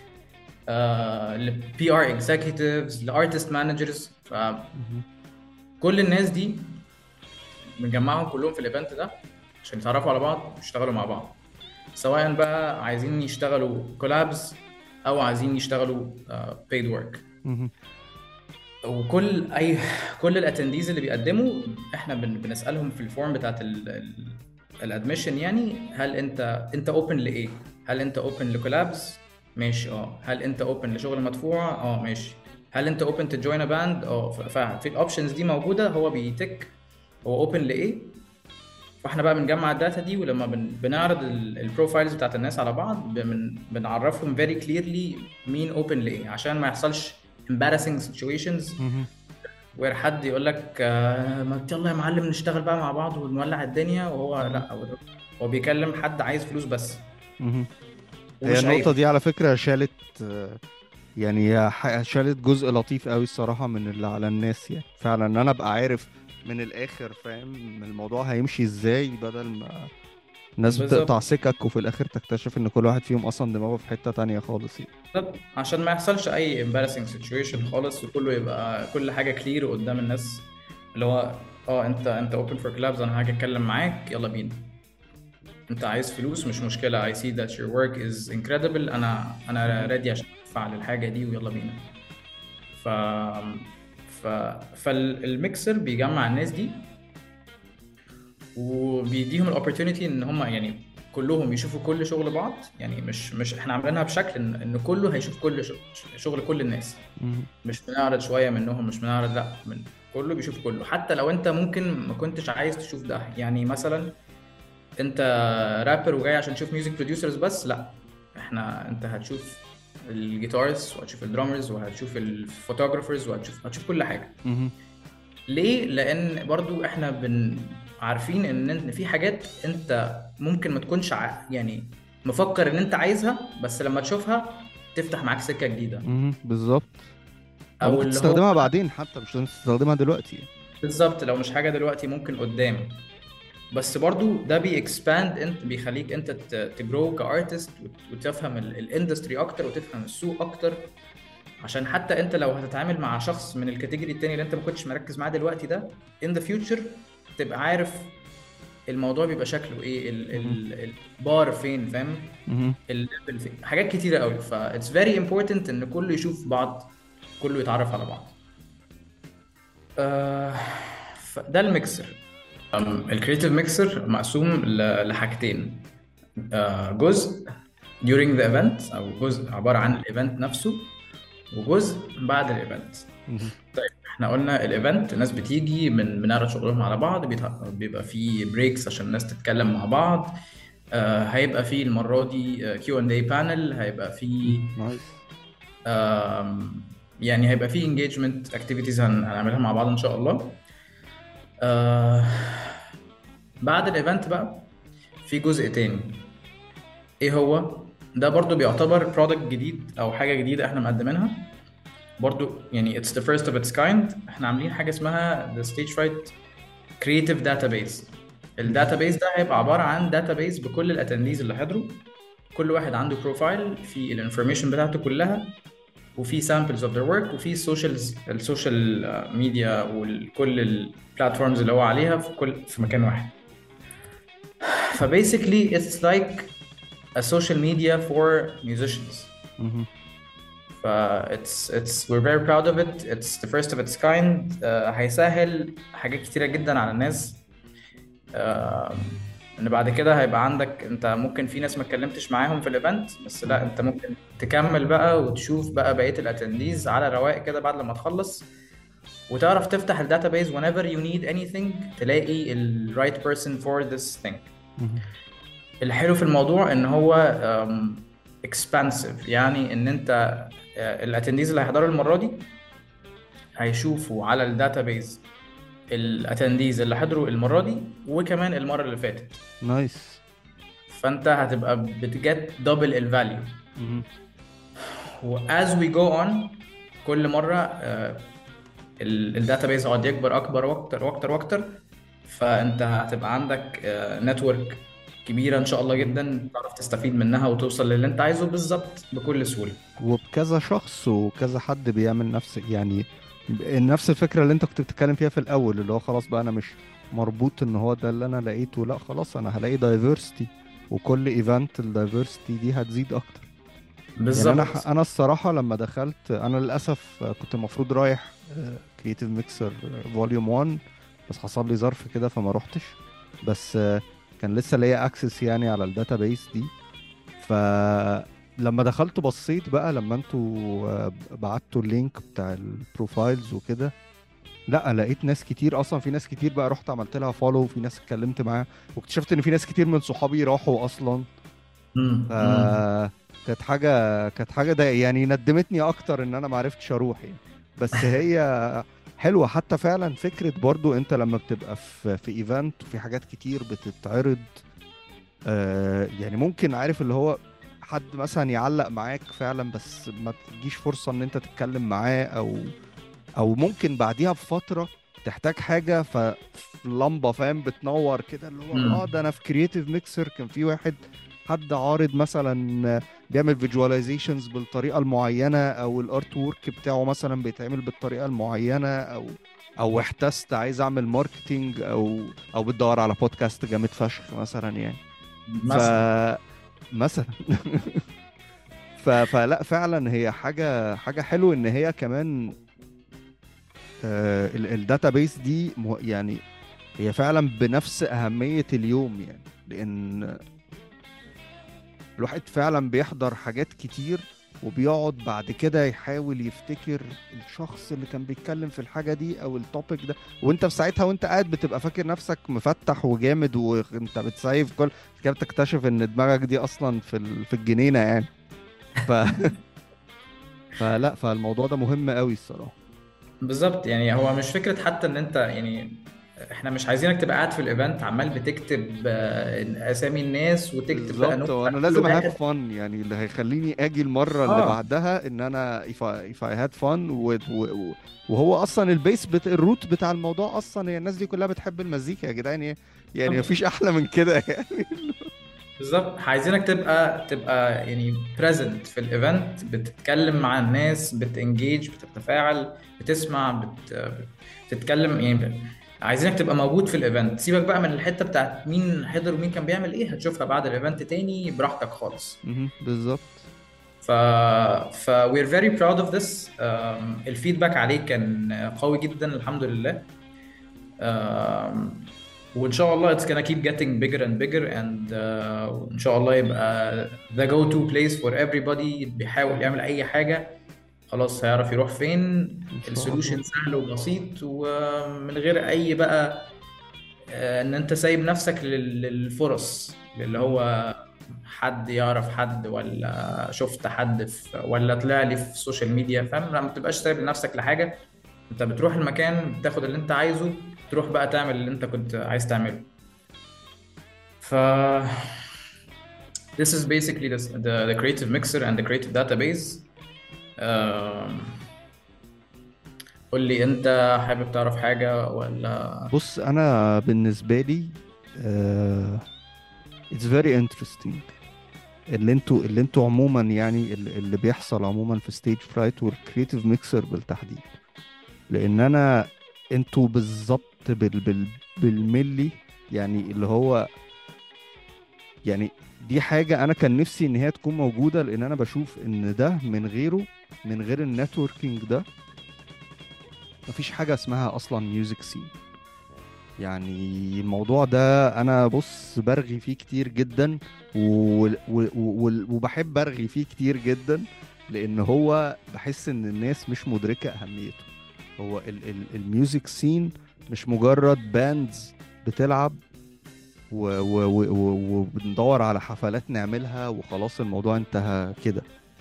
لبي ار اكزيكتيفز، لارتست مانجرز. مهم. فكل الناس دي بنجمعهم كلهم في الايفنت ده عشان يتعرفوا على بعض ويشتغلوا مع بعض، سواء بقى عايزين يشتغلوا كولابز او عايزين يشتغلوا بيد ورك. مهم. وكل اي كل الاتنديز اللي بيقدموا احنا بن- بنسالهم في الفورم بتاعت الادميشن، يعني هل انت انت اوبن لايه؟ هل انت اوبن لكولابز؟ ماشي اه. هل انت اوبن لشغل مدفوع؟ اه ماشي. هل انت اوبن تو جوين ا باند؟ اه. ف- ففي الاوبشنز دي موجوده، هو بيتك هو اوبن لايه. فاحنا بقى بنجمع الداتا دي، ولما بن... بنعرض البروفايلز بتاعت الناس على بعض بن... بنعرفهم very clearly مين اوبن لايه، عشان ما يحصلش embarrassing situations مهم. وير حد يقول لك آه، ما يلا يا معلم نشتغل بقى مع بعض ونولع الدنيا، وهو مهم. لا، هو هو بيكلم حد عايز فلوس بس. مهم. هي ومش النقطة عيب. دي على فكرة شالت، آه، يعني هي ح- شالت جزء لطيف قوي الصراحة من اللي على الناس، يعني فعلا ان انا ابقى عارف من الاخر فاهم الموضوع هيمشي ازاي، بدل ما الناس بالظبط. بتقطع سكك وفي الاخر تكتشف ان كل واحد فيهم اصلا دماغه في حتة تانية خالص يعني. بالظبط. عشان ما يحصلش اي embarrassing situation مهم. خالص، وكله يبقى كل حاجه كلير قدام الناس، اللي هو اه انت انت open for collabs، انا هاجي اتكلم معاك يلا بينا. انت عايز فلوس مش مشكله، I see that your work is incredible، انا انا مهم. ready عشان ادفع للحاجه دي ويلا بينا. ف ف فالميكسر بيجمع الناس دي وبيديهم الاوبورتونيتي ان هم يعني كلهم يشوفوا كل شغل بعض. يعني مش مش احنا عاملينها بشكل ان, إن كله هيشوف كل شغل, شغل كل الناس. مهم. مش بنعرض شويه منهم، مش بنعرض، لا، من كله بيشوف كله، حتى لو انت ممكن ما كنتش عايز تشوف ده. يعني مثلا انت رابر وجاي عشان تشوف ميوزك بروديوسرز بس، لا، احنا انت هتشوف الجيتارز وهتشوف الدرامرز وهتشوف الفوتوغرافرز وهتشوف هتشوف كل حاجه. مهم. ليه؟ لان برضو احنا بن عارفين ان إن في حاجات انت ممكن ما تكونش ع... يعني مفكر ان انت عايزها، بس لما تشوفها تفتح معاك سكه جديده. مهم. بالظبط. او او ممكن اللي هو تستخدمها بعدين حتى، مش لازم تستخدمها دلوقتي يعني. بالظبط، لو مش حاجه دلوقتي ممكن قدام. بس برضو ده بيكسباند، انت بيخليك انت تجرو كارتست وتفهم الاندستري اكتر وتفهم السوق اكتر، عشان حتى انت لو هتتعامل مع شخص من الكاتيجوري التاني اللي انت ما كنتش مركز معاه دلوقتي ده in the future، تبقى عارف الموضوع بيبقى شكله ايه، ال مهم. ال البار فين، فاهم، مهم. الليفل فين، حاجات كتيره قوي. ف it's very important ان كله يشوف بعض، كله يتعرف على بعض. آه فده الميكسر. الكريتيف ميكسر مقسوم ل- لحاجتين. آه، جزء during the event او جزء عباره عن الايفنت نفسه، وجزء بعد الايفنت. مهم. طيب احنا قلنا الايفنت الناس بتيجي من بنعرض شغلهم على بعض، بيتح- بيبقى فيه بريكس عشان الناس تتكلم مع بعض. آه هيبقى فيه المرة دي كيو اند اي بانل، هيبقى فيه نايس. آم، يعني هيبقى فيه انجيجمنت اكتيفيتيز هنعملها مع بعض ان شاء الله. آه بعد الايفنت بقى في جزء تاني. ايه هو ده؟ برضو بيعتبر برودكت جديد او حاجة جديدة احنا مقدمينها. برضو يعني it's the first of its kind. احنا عاملين حاجة اسمها the stage fright creative database. مهم. الداتابيز ده هيبقى عبارة عن داتابيز بكل الاتنديز اللي حضروا. كل واحد عنده بروفايل في الانفورميشن بتاعته كلها، وفي samples of their work، وفي socials السوشيال ميديا وكل البلاتفورمز اللي هو عليها في كل في مكان واحد. فباسically it's like a social media for musicians. مهم. ف it's it's we're very proud of it. It's the first of its kind. uh, هيسهل حاجات كتيرة جدا على الناس. آه، ان بعد كده هيبقى عندك انت ممكن في ناس ما اتكلمتش معاهم في الايفنت، بس لا مهم. انت ممكن تكمل بقى وتشوف بقى بقية الاتنديز على رواق كده بعد لما تخلص، وتعرف تفتح الداتابيز whenever you need anything تلاقي ال right person for this thing. مهم. الحلو في الموضوع ان هو um, expansive، يعني ان انت الاتنديز اللي هيحضروا المرة دي هيشوفوا على الداتابيز الاتنديز اللي حضروا المرة دي وكمان المرة اللي فاتت. نايس. فانت هتبقى بتجت دبل الفاليو. مهم. واز وي جو اون كل مره الداتابيز هيقعد يكبر اكبر واكتر واكتر واكتر، فانت هتبقى عندك نتورك كبيره ان شاء الله جدا تعرف تستفيد منها وتوصل للي انت عايزه بالظبط بكل سهوله. وبكذا شخص وكذا حد بيعمل نفس يعني نفس الفكرة اللي انت كنت بتتكلم فيها في الاول، اللي هو خلاص بقى انا مش مربوط ان هو ده اللي انا لقيته، لا خلاص انا هلاقي دايفرستي، وكل ايفنت الدايفرستي دي هتزيد اكتر. يعني انا ح- بالظبط. انا الصراحة لما دخلت، انا للاسف كنت المفروض رايح كرييتيف ميكسر فوليوم واحد، بس حصل لي ظرف كده فما روحتش. بس آه، كان لسه ليا اكسس يعني على الداتابيس دي. فلما دخلت بصيت بقى لما انتوا آه، بعتوا اللينك بتاع البروفايلز وكده، لا لقيت ناس كتير اصلا، في ناس كتير بقى رحت عملت لها فولو، وفي ناس اتكلمت معاها، واكتشفت ان في ناس كتير من صحابي راحوا اصلا. امم ف امم كانت حاجه كانت حاجه ده يعني ندمتني اكتر ان انا ما عرفتش اروح يعني. بس هي حلوه حتى فعلا فكره برضو، انت لما بتبقى في في ايفنت وفي حاجات كتير بتتعرض، آه يعني ممكن عارف اللي هو حد مثلا يعلق معاك فعلا، بس ما تجيش فرصه ان انت تتكلم معاه، او او ممكن بعديها بفتره تحتاج حاجه فلمبه فاهم بتنور كده، اللي هو اه ده انا في كرييتيف ميكسر كان في واحد حد عارض مثلا بيعمل فيجواليزيشنز بالطريقه المعينه، او الارت وورك بتاعه مثلا بيتعمل بالطريقه المعينه، او او احتست عايز اعمل ماركتينج، او او بتدور على بودكاست جامد فشخ مثلا يعني. ف مثلا. مثلا ف... فلا فعلا هي حاجه حاجه حلوه ان هي كمان الداتابيس دي مه- يعني هي فعلا بنفس أهمية اليوم يعني، لأن الواحد فعلا بيحضر حاجات كتير وبيقعد بعد كده يحاول يفتكر الشخص اللي كان بيتكلم في الحاجة دي أو التوبيك ده، وانت في ساعتها وانت قاعد بتبقى فاكر نفسك مفتح وجامد وانت بتسايف كل كده، بتكتشف ان دماغك دي اصلا في ال- في الجنينة يعني. ف... فلا فالموضوع ده مهم قوي الصراحة. بالظبط. يعني هو مش فكرة حتى ان انت يعني احنا مش عايزينك تبقى قاعد في الايفنت عمال بتكتب آه، اسامي الناس وتكتب بقى بالظبط، نوت على وانا كل لازم اهاف واحد. فن يعني، اللي هيخليني اجي المره اللي اه بعدها ان انا if I, if I had fun و... و... وهو اصلا البيس بت... الروت بتاع الموضوع اصلا هي الناس دي كلها بتحب المزيكا يا جدعان يعني، يعني بالظبط. مفيش احلى من كده يعني. بالظبط. عايزينك تبقى تبقى يعني present في الايفنت، بتتكلم مع الناس، بتنجيج، بتتفاعل، بتسمع، بت... بتتكلم يعني. عايزينك تبقى موجود في الايفنت. سيبك بقى من الحتة بتاعت مين حضر ومين كان بيعمل ايه، هتشوفها بعد الايفنت تاني براحتك خالص. مهم، بالظبط. ف ف we're very proud of this. um, الفيدباك عليه كان قوي جدا الحمد لله. um, وإن شاء الله it's gonna keep getting bigger and bigger and uh, وإن شاء الله يبقى the go to place for everybody بيحاول يعمل أي حاجة. خلاص هيعرف يروح فين. ان شاء الله. السولوشن سهل وبسيط ومن غير أي بقى آه، إن أنت سايب نفسك لل- للفرص اللي مهم. هو حد يعرف حد، ولا شفت حد في، ولا طلع لي في السوشيال ميديا. فاهم؟ ما بتبقاش سايب لنفسك لحاجة. انت بتروح المكان بتاخد اللي انت عايزه، تروح بقى تعمل اللي انت كنت عايز تعمله. ف this is basically this, the, the creative mixer and the creative database. um, قول لي انت، حابب تعرف حاجة ولا؟ بص انا بالنسبه لي آه it's very interesting اللي انتوا اللي انتوا عموما يعني اللي اللي بيحصل عموما في ستيج فرايت والكرييتيف ميكسر بالتحديد. لان انا انتوا بالظبط بال بال بالملي، يعني اللي هو يعني دي حاجة انا كان نفسي ان هي تكون موجودة، لان انا بشوف ان ده من غيره، من غير النتوركينج ده مفيش حاجة اسمها اصلا ميوزك سين. يعني الموضوع ده انا بص برغي فيه كتير جدا و... و... و... وبحب ارغي فيه كتير جدا، لان هو بحس ان الناس مش مدركة اهميته. هو ال... ال... الميوزك سين مش مجرد باندز بتلعب و... و... و... و... وبندور على حفلات نعملها وخلاص الموضوع انتهى كده.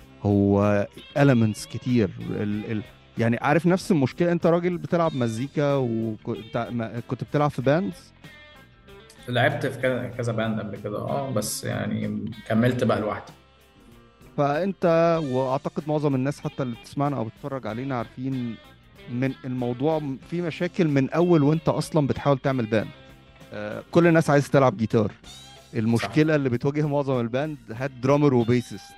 هو elements كتير ال... ال... يعني عارف نفس المشكلة، انت راجل بتلعب مزيكا وكنت كنت بتلعب في باندز. لعبت في كذا كذا باند قبل كده، اه بس يعني كملت بقى لوحدي. فانت واعتقد معظم الناس حتى اللي بتسمعنا او بتتفرج علينا عارفين من الموضوع فيه مشاكل من اول وانت اصلا بتحاول تعمل باند. آه، كل الناس عايز تلعب جيتار. صح. المشكلة اللي بتواجه معظم الباند هات درامر وبيسست.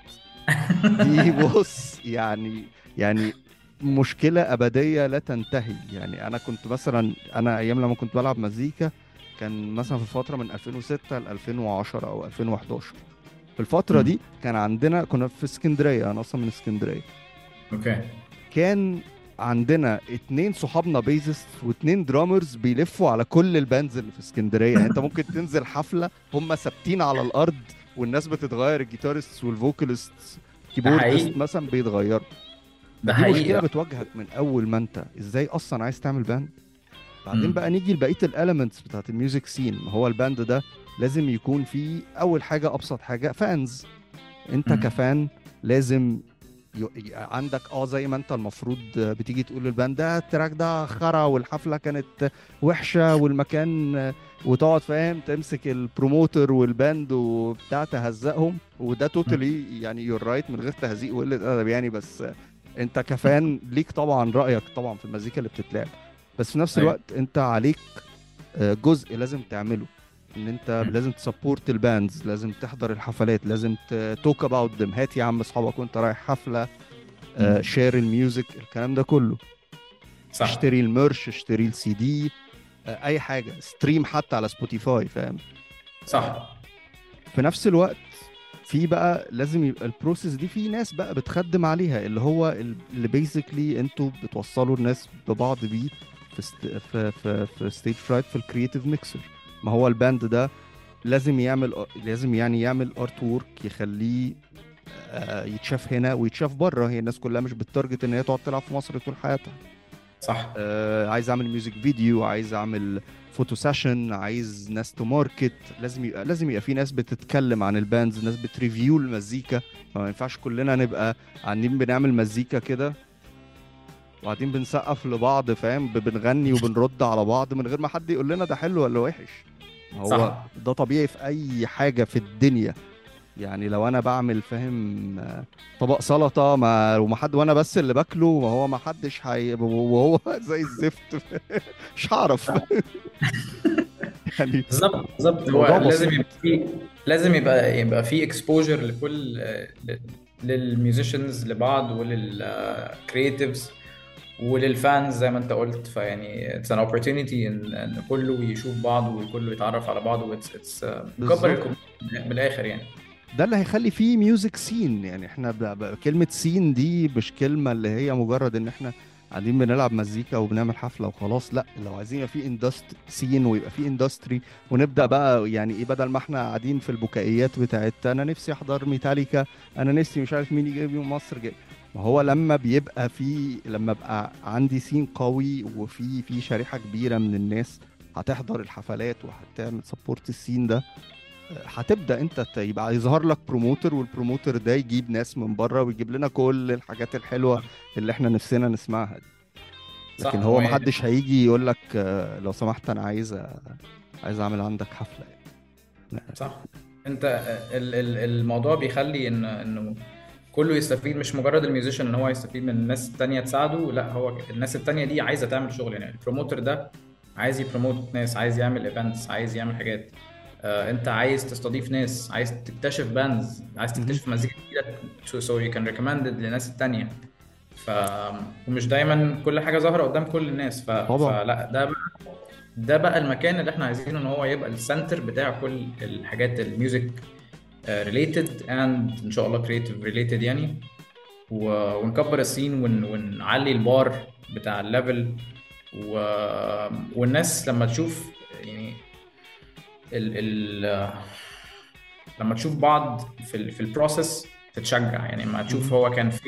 دي بص يعني يعني مشكلة أبدية لا تنتهي. يعني أنا كنت مثلا، أنا أيام لما كنت بلعب مزيكا كان مثلا في الفترة من ألفين وستة ل ألفين وعشرة أو ألفين وحداشر. في الفترة مم. دي كان عندنا، كنا في اسكندرية، أنا أصلا من اسكندرية. اوكي. كان عندنا اتنين صحابنا بيزست واتنين درامرز بيلفوا على كل الباندز اللي في اسكندرية. يعني انت ممكن تنزل حفلة هم ثابتين على الأرض والناس بتتغير، الجيتارست والفوكاليست ده كيبوردست حقيقي. مثلا بيتغيروا. ده فدي مشكلة حقيقي. بتواجهك من أول ما انت ازاي أصلا عايز تعمل باند. بعدين مم. بقى نيجي لبقية الاليمنتس بتاعت الميوزك سين. ما هو الباند ده لازم يكون فيه أول حاجة، أبسط حاجة، فانز. انت مم. كفان لازم ي- ي- عندك اه زي ما انت المفروض بتيجي تقول للباند ده التراك ده خرا والحفله كانت وحشه والمكان، وتقعد فاهم تمسك البروموتر والباند وبتاع تهزقهم، وده مم. توتالي يعني يور رايت من غير تهزيق وقله ادب يعني. بس انت كفان ليك طبعا رايك طبعا في المزيكا اللي بتتلعب، بس في نفس ايوه. الوقت انت عليك آه، جزء لازم تعمله، ان انت مم. لازم تسبورت الباندز، لازم تحضر الحفلات، لازم توك اباوت ذم، هات يا عم اصحابك وانت رايح حفله، مم. شير الميوزك، الكلام ده كله. صح. اشتري الميرش، اشتري السي دي، آه، اي حاجه، ستريم حتى على سبوتيفاي، فاهم. صح. في نفس الوقت في بقى لازم يبقى البروسيس دي في ناس بقى بتخدم عليها، اللي هو ال- اللي بيزيكلي انتوا بتوصلوا الناس ببعض بيه في ست... في في في ستيج فرايت في الكرييتيف ميكسر. ما هو الباند ده لازم يعمل، لازم يعني يعمل ارت وورك يخليه آه، يتشاف هنا ويتشاف بره. هي الناس كلها مش بالتارجت ان هي تقعد تلعب في مصر طول حياتها. صح. آه، عايز اعمل ميوزك فيديو، عايز اعمل فوتو سيشن، عايز ناس تو ماركت، لازم يبقى لازم يبقى في ناس بتتكلم عن الباندز، ناس بتريفيو المزيكا. ما ينفعش كلنا نبقى قاعدين بنعمل مزيكا كده وقاعدين بنسقف لبعض، فاهم، ب- بنغني وبنرد على بعض من غير ما حد يقول لنا ده حلو ولا وحش. هو صح. ده طبيعي في اي حاجة في الدنيا. يعني لو انا بعمل فاهم آه، طبق سلطة ما وما حد وانا بس اللي باكله، وهو ما حدش هي وهو زي الزفت مش هعرف يعني. بالظبط بالظبط، هو الموضوع لازم بسيط. يبقى في لازم يبقى يبقى في اكسبوجر لكل للميوزيشنز لبعض وللكرييتيفز وللفانز زي ما انت قلت. فيعني اتس ان opportunity ان ان كله يشوف بعض وكله يتعرف على بعض، واتس اتس بكبر بالظبط. الكوميونتي من الاخر يعني. ده اللي هيخلي فيه ميوزك سين. يعني احنا ب... ب... كلمة سين دي مش كلمة اللي هي مجرد ان احنا قاعدين بنلعب مزيكا وبنعمل حفلة وخلاص. لا، لو عايزين يبقى فيه اندست سين ويبقى فيه اندستري، ونبدأ صح. بقى يعني ايه، بدل ما احنا قاعدين في البكائيات بتاعت انا نفسي احضر ميتاليكا، انا نفسي مش عارف مين يجي من مصر جاي. ما هو لما بيبقى في، لما بقى عندي سين قوي وفي في شريحة كبيرة من الناس هتحضر الحفلات وهتعمل سبورت السين ده، هتبدأ انت ت- يبقى يظهر لك بروموتر، والبروموتر ده يجيب ناس من بره ويجيب لنا كل الحاجات الحلوة اللي احنا نفسنا نسمعها دي. صح. لكن هو هو محدش هيجي يقول لك آه، لو سمحت انا عايز أ- عايز اعمل عندك حفلة يعني. صح. انت ال- ال- الموضوع بيخلي ان انه كله يستفيد، مش مجرد الميوزيشن ان هو يستفيد من الناس التانية تساعده، لا هو الناس التانية دي عايزة تعمل شغل. يعني البروموتر ده عايز يبروموت ناس، عايز يعمل ايفنتس، عايز يعمل حاجات. آه، انت عايز تستضيف ناس، عايز تكتشف باندز، عايز مهم. تكتشف مزيكا جديدة so so you can recommend it للناس التانية. ف ومش دايما كل حاجة ظاهرة قدام كل الناس. ف... طبعا. فلا ده بقى، ده بقى المكان اللي احنا عايزينه ان هو يبقى السنتر بتاع كل الحاجات الميوزك ريليتد اند ان شاء الله كريتيف ريليتد يعني. و- ونكبر السين ون... ونعلي البار بتاع الليفل. و... والناس لما تشوف يعني ال... ال... لما تشوف بعض في ال... في البروسيس تتشجع. يعني لما تشوف مهم. هو كان فين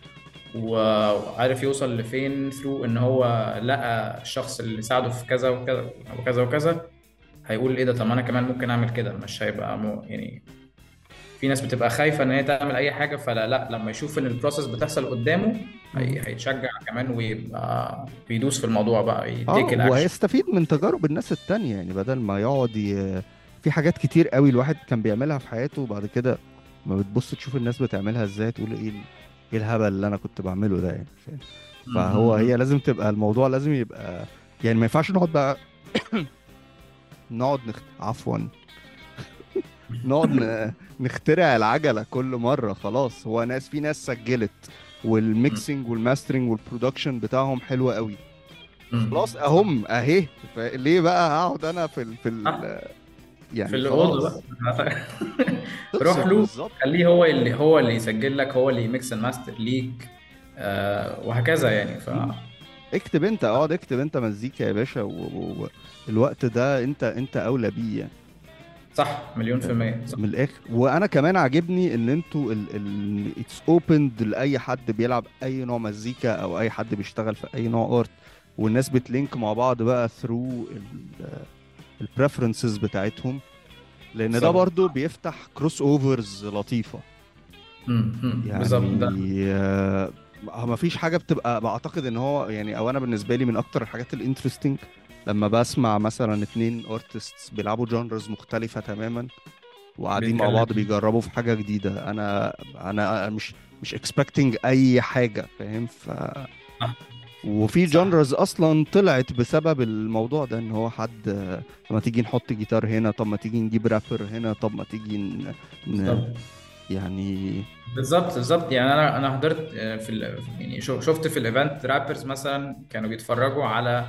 وعارف يوصل لفين ثرو ان هو لقى الشخص اللي ساعده في كذا وكذا وكذا وكذا، هيقول ايه ده، طب ما انا كمان ممكن اعمل كده. مش هيبقى مو يعني، في ناس بتبقى خايفة ان هي تعمل اي حاجة، فلا لا لما يشوف ان البروسيس بتحصل قدامه مهم. هي... هيتشجع كمان ويبقى بيدوس في الموضوع بقى، اه، يتيك الاكشن. وهيستفيد من تجارب الناس التانية، يعني بدل ما يقعد ي... في حاجات كتير قوي الواحد كان بيعملها في حياته، وبعد كده ما بتبص تشوف الناس بتعملها ازاي تقول ايه ال- ايه الهبل اللي انا كنت بعمله ده يعني، فاهم؟ فهو هي لازم تبقى الموضوع لازم يبقى، يعني ما ينفعش نقعد بقى نقعد نخ... عفوا نقعد ن... نخترع العجلة كل مرة. خلاص، هو ناس في ناس سجلت والميكسينج والماسترنج والبرودكشن بتاعهم حلو قوي، خلاص صح. اهم اهي. ليه بقى هقعد انا في ال... في صح. ال... في يعني الأوضة خلاص بقى. روح خلصت له، بالظبط. خليه هو اللي هو اللي يسجل لك، هو اللي يميكس الماستر ليك. آه وهكذا يعني. ف مم. اكتب انت، اقعد اكتب انت مزيكا يا باشا، والوقت ده انت انت اولى بيه يعني. صح، مليون في آه، المية صح. من الاخر. وانا كمان عاجبني ان انتوا ال اتس اوبند لاي حد بيلعب اي نوع مزيكا او اي حد بيشتغل في اي نوع ارت، والناس بتلينك مع بعض بقى ثرو البريفرنسز بتاعتهم، لان ده بالظبط. برضو بيفتح كروس اوفرز لطيفة. مم، مم، بالظبط يعني ده. آه، ما فيش حاجة بتبقى، بعتقد ان هو يعني، او انا بالنسبة لي من اكتر الحاجات الانترستنج لما بسمع مثلا اتنين ارتستس بيلعبوا جانرز مختلفة تماما وقاعدين مع بيتكلم. بعض بيجربوا في حاجة جديدة. انا انا مش مش expecting اي حاجة، فاهم؟ ف صح. وفي صح. جانرز اصلا طلعت بسبب الموضوع ده، ان هو حد آه، طب ما تيجي نحط جيتار هنا، طب ما تيجي نجيب رابر هنا، طب ما تيجي ن... ن... بالظبط. يعني بالظبط. بالظبط يعني انا انا حضرت آه، في ال... يعني شو- شفت في الايفنت رابرز مثلا كانوا بيتفرجوا على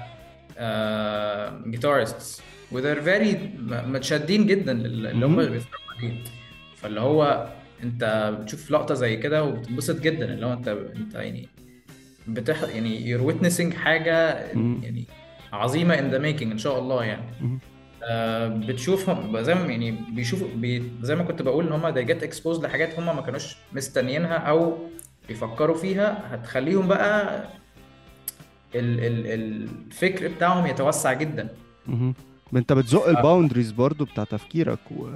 جيتارستس و they're very م- متشدين جدا لل- اللي هم مهم. اللي بيتفرجوا عليه. فاللي هو انت بتشوف لقطة زي كده وبتنبسط جدا، اللي هو انت انت يعني بتح يعني you're witnessing حاجة مهم. يعني عظيمة in the making ان شاء الله يعني. مهم. آه، بتشوفهم زي ما يعني بيشوفوا بي زي ما كنت بقول ان هم they get exposed لحاجات هم ما كانوش مستنيينها او بيفكروا فيها، هتخليهم بقى ال ال الفكر بتاعهم يتوسع جدا. مهم. ما انت بتزق الباوندريز برضو بتاع تفكيرك و...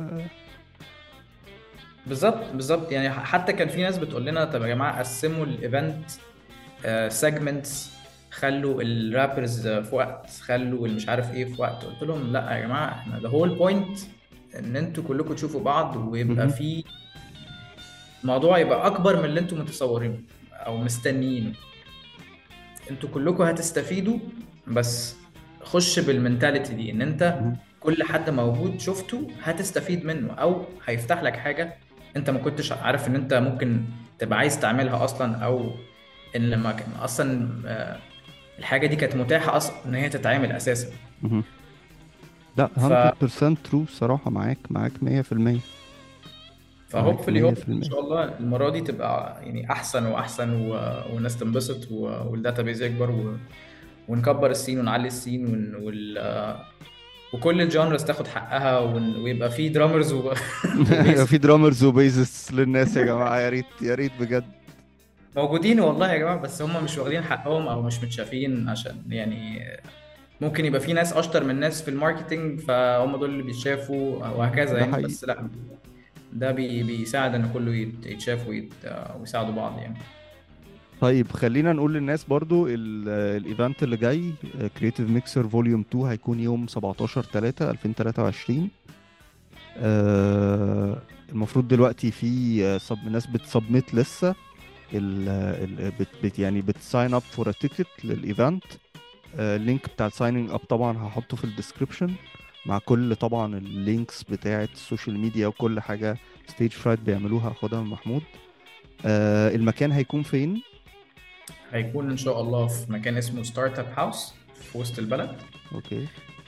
بالظبط. بالظبط يعني حتى كان في ناس بتقول لنا طب يا جماعه قسموا الايفنت سيجمنتس، خلوا الرابرز في وقت، خلوا المش عارف ايه في وقت. قلت لهم لا يا جماعه، احنا ده هول بوينت ان انتوا كلكم تشوفوا بعض ويبقى مهم. في الموضوع يبقى اكبر من اللي انتوا متصورينه او مستنيينه. انتوا كلكم هتستفيدوا، بس خش بالمنتاليتي دي ان انت مهم. كل حد موجود شفته هتستفيد منه او هيفتح لك حاجة انت ما كنتش عارف ان انت ممكن تبقى عايز تعملها اصلا، او ان ما كان اصلا آه، الحاجة دي كانت متاحة اصلا ان هي تتعمل اساسا. مهم. لا ف مية بالمية ترو صراحة، معاك معاك مية في المية. معاك فهوبفلي هوب ان مية في المية. شاء الله المرة دي تبقى يعني احسن واحسن و... والناس تنبسط و... والداتابيز يكبر و... ونكبر السين ونعلي السين ون... وال... وكل الجانرز تاخد حقها ون... ويبقى في درامرز و... وبيس في درامرز وبيزس للناس يا جماعة، يا ريت يا ريت بجد. موجودين والله يا جماعة، بس هم مش واخدين حقهم او مش متشافين، عشان يعني ممكن يبقى في ناس اشطر من ناس في الماركتينج فهم دول اللي بيتشافوا وهكذا ده يعني. حقيقي. بس لا، ده بي... بيساعد ان كله يت- يتشاف ويت... ويساعدوا بعض يعني. طيب خلينا نقول للناس برضو ال- الايفنت اللي جاي كرييتيف ميكسر فوليوم اتنين هيكون يوم سبعتاشر تلاتة ألفين وتلاتة وعشرين. آه المفروض دلوقتي في سب ناس بتسبميت لسه ال ال بت بت يعني بتساين اب فور ا تيكت للايفنت. اللينك بتاع السايننج اب طبعا هحطه في الديسكريبشن، مع كل طبعا اللينكس بتاعه السوشيال ميديا وكل حاجه ستيج فرايت بيعملوها هاخدها من محمود. آه المكان هيكون فين؟ هيكون ان شاء الله في مكان اسمه ستارت اب هاوس في وسط البلد. اوكي.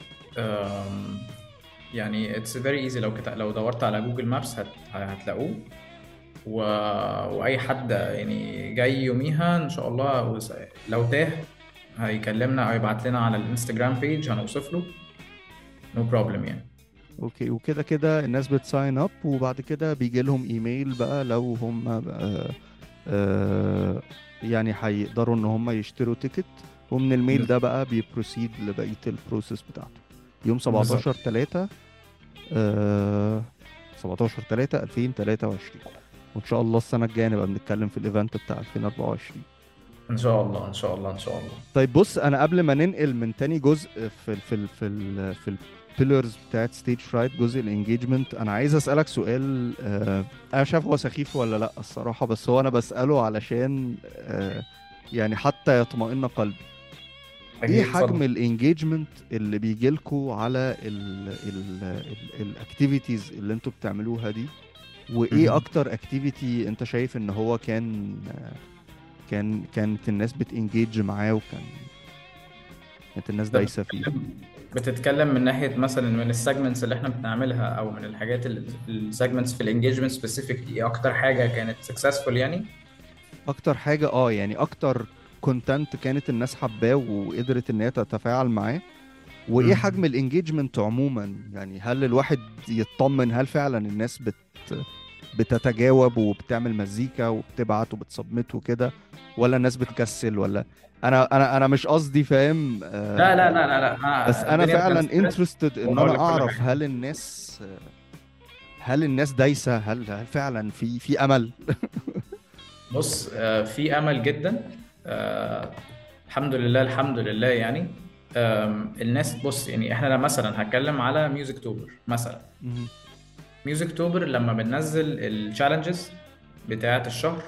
أم، يعني اتس فيري ايزي، لو كت... لو دورت على جوجل مابس هت... هتلاقوه. و... واي حد يعني جاي يوميها ان شاء الله، وس- لو تاه هيكلمنا او يبعت لنا على الانستجرام بيج هنوصف له. نو بروبلم يعني. اوكي، وكده كده الناس بتساين اب وبعد كده بيجي لهم ايميل بقى لو هم آه آه يعني هيقدروا ان هم يشتروا تيكت، ومن الميل ده بقى بيبروسيد لبقية البروسيس بتاعته. يوم بالظبط. سبعتاشر تلاتة، آه سبعتاشر تلاتة ألفين وتلاتة وعشرين، وان شاء الله السنة الجاية نبقى بنتكلم في الايفنت بتاع ألفين وأربعة وعشرين. ان شاء الله ان شاء الله ان شاء الله. طيب بص، انا قبل ما ننقل من تاني جزء في ال في ال في ال في البيلرز بتاعت ستيج فرايت، جزء الانجيجمنت، انا عايز اسالك سؤال. آه انا مش عارف هو سخيف ولا لا الصراحه، بس هو انا بساله علشان آه يعني حتى يطمئن قلبي. ايه اكيد حجم اتفضل. الانجيجمنت اللي بيجي لكم على الاكتيفيتيز اللي انتوا بتعملوها دي؟ وايه مهم. اكتر اكتيفيتي انت شايف ان هو كان كان كانت الناس بتانجيج معاه، وكان كانت الناس ده دايسه فيه؟ بتتكلم بتتكلم من ناحيه مثلا من السيجمنتس اللي احنا بنعملها، او من الحاجات السيجمنتس في الانجيجمنت سبيسيفيكلي، ايه اكتر حاجه كانت سكسسفول يعني؟ اكتر حاجة اه يعني اكتر كونتنت كانت الناس حباه وقدرت ان هي تتفاعل معاه، وايه حجم مم. الانجيجمنت عموما؟ يعني هل الواحد يطمن هل فعلا الناس بت بتتجاوب وبتعمل مزيكا وبتبعت وبتسبمت وكده، ولا الناس بتكسل؟ ولا انا انا انا مش قصدي فاهم لا لا آه لا لا لا، بس أنا انا الدنيا فعلا ترانسبيرنت انترستد ان انا وهقول لك كل اعرف حاجه. هل الناس هل الناس دايسة، هل هل فعلا في في امل؟ بص، آه، في امل جدا. آه، الحمد لله الحمد لله يعني. آم، الناس بص، يعني احنا لما مثلا هتكلم على ميوزك توبر مثلا. مهم. ميوزك توبر لما بننزل التشالنجز بتاعت الشهر،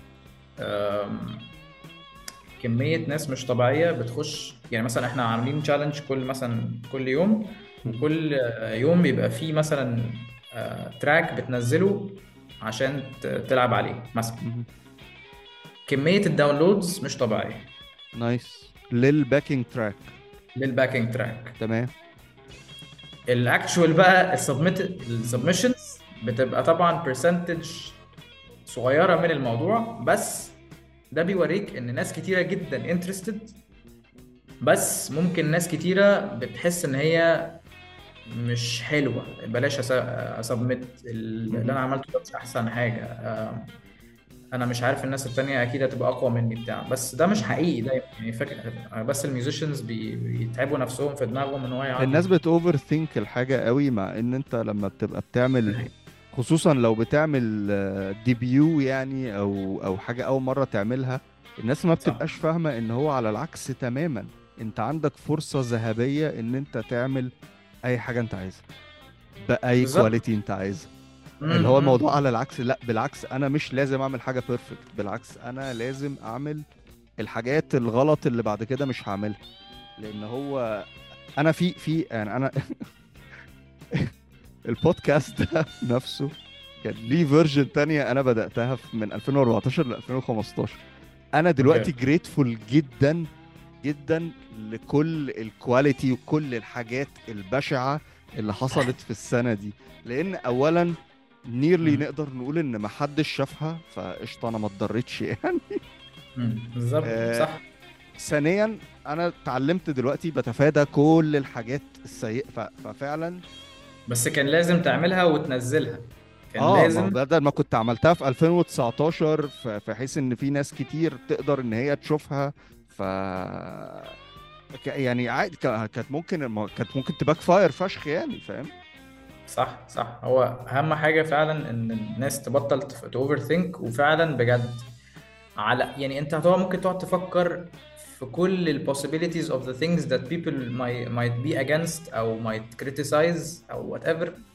آم، كمية ناس مش طبيعية بتخش. يعني مثلا احنا عاملين تشالنج كل مثلا كل يوم، مهم. وكل آه، يوم بيبقى فيه مثلا آه، تراك بتنزله عشان ت- تلعب عليه مثلا. مهم. كمية الداونلودز مش طبيعية نايس للباكينج تراك. للباكينج تراك. تمام. الاكشوال بقى السبميت مهم. السبمشنز بتبقى طبعا برسنتج صغيرة من الموضوع، بس ده بيوريك ان ناس كتيرة جدا انترستد. بس ممكن ناس كتيرة بتحس ان هي مش حلوة، بلاش اسبميت اللي مهم. انا عملته ده مش احسن حاجة. آه، انا مش عارف الناس التانية اكيد هتبقى اقوى مني بتاع، بس ده مش مهم. حقيقي دايما يعني. فاكر بس الميوزيشنز بي- بيتعبوا نفسهم في دماغهم ان هو يقعد الناس يت- بت اوفر ثينك الحاجة قوي، مع ان انت لما بتبقى بتعمل، خصوصا لو بتعمل ديبيو يعني او او حاجة اول مرة تعملها، الناس ما صح. بتبقاش فاهمة ان هو على العكس تماما. انت عندك فرصة ذهبية ان انت تعمل اي حاجة انت عايزها بأي بالظبط. كواليتي انت عايزها. اللي هو امم. الموضوع على العكس، لا بالعكس، انا مش لازم اعمل حاجة بيرفكت، بالعكس انا لازم اعمل الحاجات الغلط اللي بعد كده مش هعملها. لان هو انا في في يعني انا البودكاست ده نفسه كان ليه فيرجن تانية انا بدأتها في- من ألفين وأربعتاشر ل ألفين وخمستاشر. انا اوكي. دلوقتي جريتفول جدا جدا لكل الكواليتي وكل الحاجات البشعة اللي حصلت في السنة دي، لان اولا نيرلي مم. نقدر نقول ان محدش شافها، فقشطة انا ما اتضريتش يعني. مم. بالظبط آه، صح. ثانيا انا اتعلمت دلوقتي بتفادى كل الحاجات السيئة، ف- ففعلا بس كان لازم تعملها وتنزلها، كان اه ما هو لازم. بدل ما كنت عملتها في ألفين وتسعتاشر ف- بحيث ان في ناس كتير تقدر ان هي تشوفها، ف ك- يعني عادي ك- كانت ممكن الم- كانت ممكن تباك فاير فشخ يعني، فاهم؟ صح صح. هو اهم حاجه فعلا ان الناس تبطل اوفر ثينك، وفعلا بجد على يعني انت هتقعد ممكن تقعد تفكر في كل ال possibilities of the things that people might might be against او might criticize او whatever.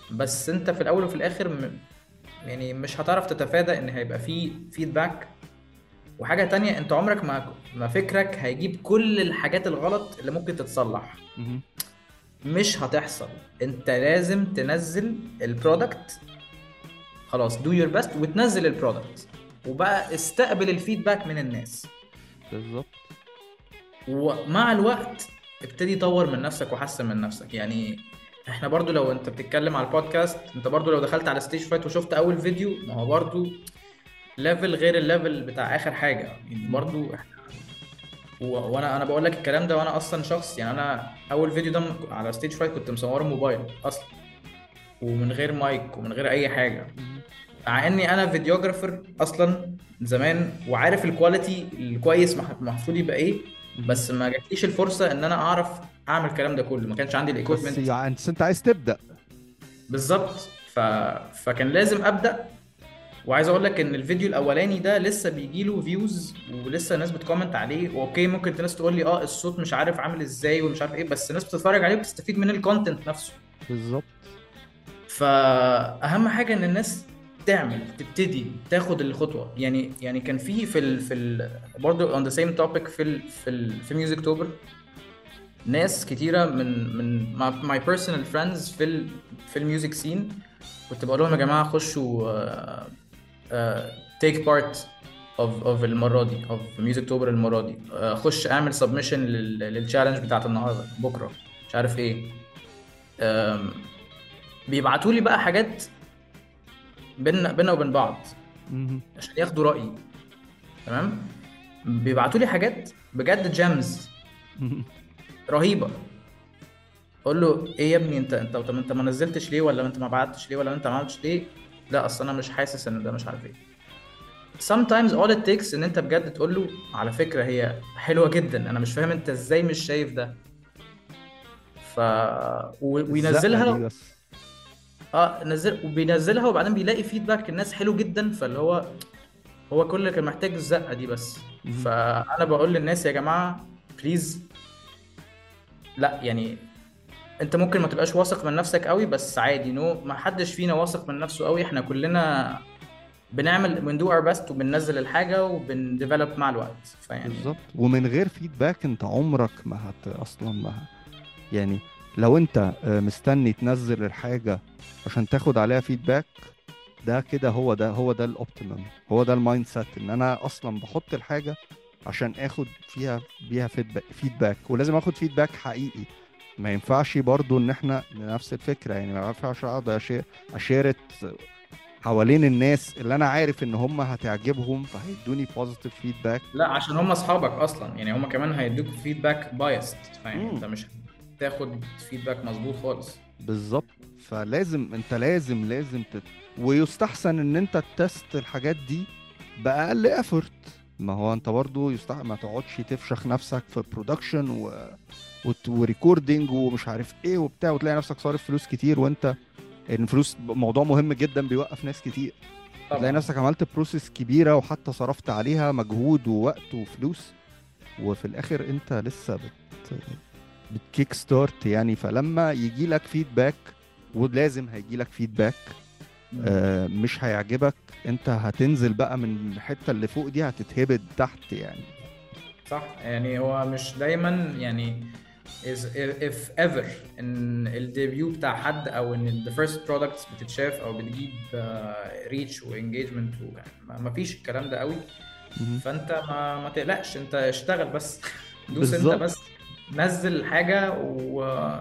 بس انت في الاول وفي الاخر م... يعني مش هتعرف تتفادى ان هيبقى فيه فيدباك. وحاجة تانية، انت عمرك ما ما فكرك هيجيب كل الحاجات الغلط اللي ممكن تتصلح. مهم. مش هتحصل. انت لازم تنزل البرودكت، خلاص do your best وتنزل البرودكت، وبقى استقبل الفيدباك من الناس. بالظبط. ومع الوقت ابتدي طور من نفسك وحسن من نفسك. يعني احنا برضو لو انت بتتكلم على البودكاست، انت برضو لو دخلت على ستيج فايت وشفت اول فيديو، ما هو برضو ليفل غير الليفل بتاع اخر حاجة. يعني مهم. برضو و- وانا انا بقول لك الكلام ده وانا اصلا شخص، يعني انا اول فيديو ده على ستيج فايت كنت مصوره موبايل اصلا، ومن غير مايك ومن غير اي حاجه. مهم. مع اني انا فيديوجرافر اصلا زمان، وعارف الكواليتي الكويس مح- المفروض يبقى ايه. مهم. بس ما جاتليش الفرصه ان انا اعرف اعمل الكلام ده كله، ما كانش عندي بس الايكويبمنت. يعني انت عايز تبدأ. بالظبط. ف... فكان لازم ابدا. وعايز اقول لك ان الفيديو الاولاني ده لسه بيجي له فيوز، ولسه الناس بتكومنت عليه. اوكي، ممكن الناس تقول لي اه الصوت مش عارف عامل ازاي ومش عارف ايه، بس الناس بتتفرج عليه وبتستفيد من الكونتنت نفسه. بالظبط. فاهم حاجه ان الناس تعمل، تبتدي تاخد الخطوه. يعني يعني كان في في ال في ال برضه on the same topic في ال في ال في ميوزك توبر، ناس كتيره من من my personal friends في ال في الميوزك سين. كنت بقول لهم يا جماعه خشوا آه، آه، take part of of المره دي of ميوزك توبر المره دي. آه، خش اعمل سبمشن للتشالنج بتاعت النهارده بكره مش عارف ايه. آم، بيبعتوا لي بقى حاجات بينا بينا وبين بعض مهم. عشان ياخدوا رأيي. تمام. بيبعتوا لي حاجات بجد جيمز مهم. رهيبة. اقول له ايه يا ابني، انت انت طب انت ما نزلتش ليه، ولا انت ما بعتش ليه، ولا انت ما عملتش ليه؟ لا اصل انا مش حاسس ان ده مش عارف ايه. sometimes all it takes ان انت بجد تقول له على فكرة هي حلوة جدا، انا مش فاهم انت ازاي مش شايف ده. ف و- الزقة دي وينزلها. بس. اه نزل وبينزلها، وبعدين بيلاقي فيدباك الناس حلو جدا، فاللي هو هو كل اللي كان محتاج الزقة دي بس. مهم. فأنا بقول للناس يا جماعة بليز، لا يعني انت ممكن ما تبقاش واثق من نفسك قوي، بس عادي، نو ما حدش فينا واثق من نفسه قوي. احنا كلنا بنعمل بندو اور بيست وبننزل الحاجة وبنديفلوب مع الوقت. فيعني بالظبط. ومن غير فيدباك انت عمرك ما هت اصلا ما ه- يعني لو انت آه، مستني تنزل الحاجة عشان تاخد عليها فيدباك، ده كده هو ده هو ده الاوبتيمم، هو ده المايند سيت، ان انا اصلا بحط الحاجة عشان اخد فيها بيها فيدباك فيدباك ولازم اخد فيدباك حقيقي. ما ينفعش برضو ان احنا نفس الفكرة، يعني ما ينفعش اقعد أشي- اشيرت حوالين الناس اللي انا عارف ان هم هتعجبهم فهيدوني بوزيتيف فيدباك. لا، عشان هم اصحابك اصلا، يعني هم كمان هيدوك فيدباك بايست. فيعني امم انت مش تاخد فيدباك مظبوط خالص. بالظبط. فلازم انت لازم لازم تت... ويستحسن ان انت تست الحاجات دي باقل افورت. ما هو انت برضو يستحسن ما تقعدش تفشخ نفسك في برودكشن و... وت- وريكوردينج ومش عارف ايه وبتاع، وتلاقي نفسك صارف فلوس كتير، وانت الفلوس موضوع مهم جدا بيوقف ناس كتير. بتلاقي طبعا. نفسك عملت بروسيس كبيرة وحتى صرفت عليها مجهود ووقت وفلوس، وفي الاخر انت لسه بت بتكيك ستارت يعني. فلما يجي لك فيدباك، ولازم هيجي لك فيدباك، مم. آه مش هيعجبك، انت هتنزل بقى من الحتة اللي فوق دي هتتهبد تحت يعني. صح. يعني هو مش دايما يعني is if ever ان الديبيو بتاع حد او ان ال the first products بتتشاف او بتجيب ريتش وانجيجمنت، ما فيش الكلام ده قوي. مهم. فانت ما ما تقلقش، انت اشتغل بس دوس انت بالظبط. بس. نزل حاجة و...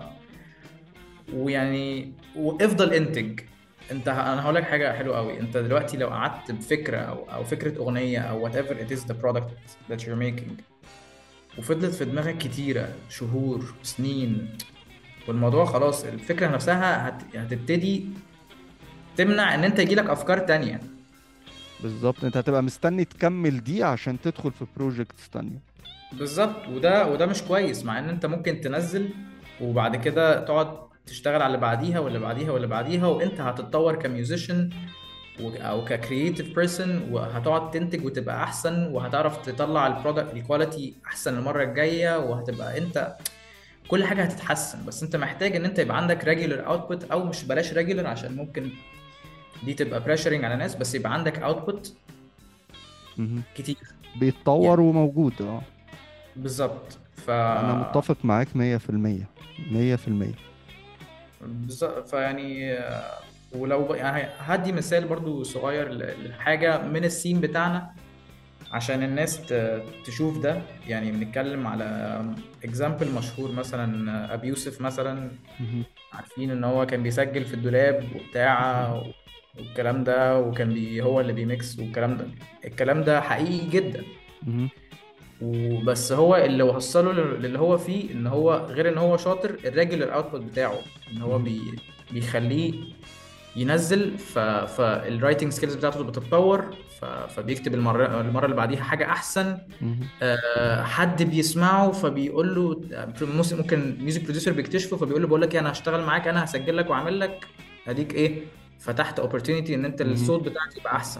ويعني وافضل انتج. انت انا هقول لك حاجة حلوة قوي. انت دلوقتي لو قعدت بفكرة او او فكرة اغنية او whatever it is the product that you're making، وفضلت في دماغك كتيرة شهور سنين، والموضوع خلاص الفكرة نفسها هت... هتبتدي تمنع ان انت يجيلك افكار تانية. بالظبط. انت هتبقى مستني تكمل دي عشان تدخل في بروجكتس تانية. بالظبط. وده وده مش كويس، مع ان انت ممكن تنزل وبعد كده تقعد تشتغل على اللي بعديها واللي بعديها واللي بعديها، وانت هتتطور كميوزيشن او ككرييتيف بيرسون، وهتقعد تنتج وتبقى احسن، وهتعرف تطلع البرودكت الكواليتي احسن المرة الجاية، وهتبقى انت كل حاجه هتتحسن. بس انت محتاج ان انت يبقى عندك ريجولر اوتبوت، او مش بلاش ريجولر عشان ممكن دي تبقى بريشرنج على ناس، بس يبقى عندك اوتبوت مهم. كتير بيتطور يعني. وموجود اه. بالظبط. ف انا متفق معاك مية في المية. مية في المية. بالظبط فيعني آه، ولو ب- يعني هدي مثال برضو صغير ل- لحاجه من السين بتاعنا عشان الناس ت- تشوف ده. يعني بنتكلم على اكزامبل مشهور، مثلا ابي يوسف مثلا. مهم. عارفين ان هو كان بيسجل في الدولاب وبتاع مهم. والكلام ده، وكان بي هو اللي بيميكس والكلام ده. الكلام ده حقيقي جدا. مهم. وبس هو اللي وصله لل- للي هو فيه، ان هو غير ان هو شاطر، الريجولر اوتبوت بتاعه ان هو مهم. بي بيخليه ينزل. ف فالرايتنج سكيلز بتاعته بتتطور. ف... فبيكتب المره المره اللي بعديها حاجه احسن. مهم. آه، حد بيسمعه فبيقول له، ممكن ممكن ميوزك بروديوسر بيكتشفه فبيقول له بقول لك ايه، انا هشتغل معاك، انا هسجل لك واعمل لك. اديك ايه، فتحت اوبورتيونيتي ان انت مهم. الصوت بتاعك يبقى احسن.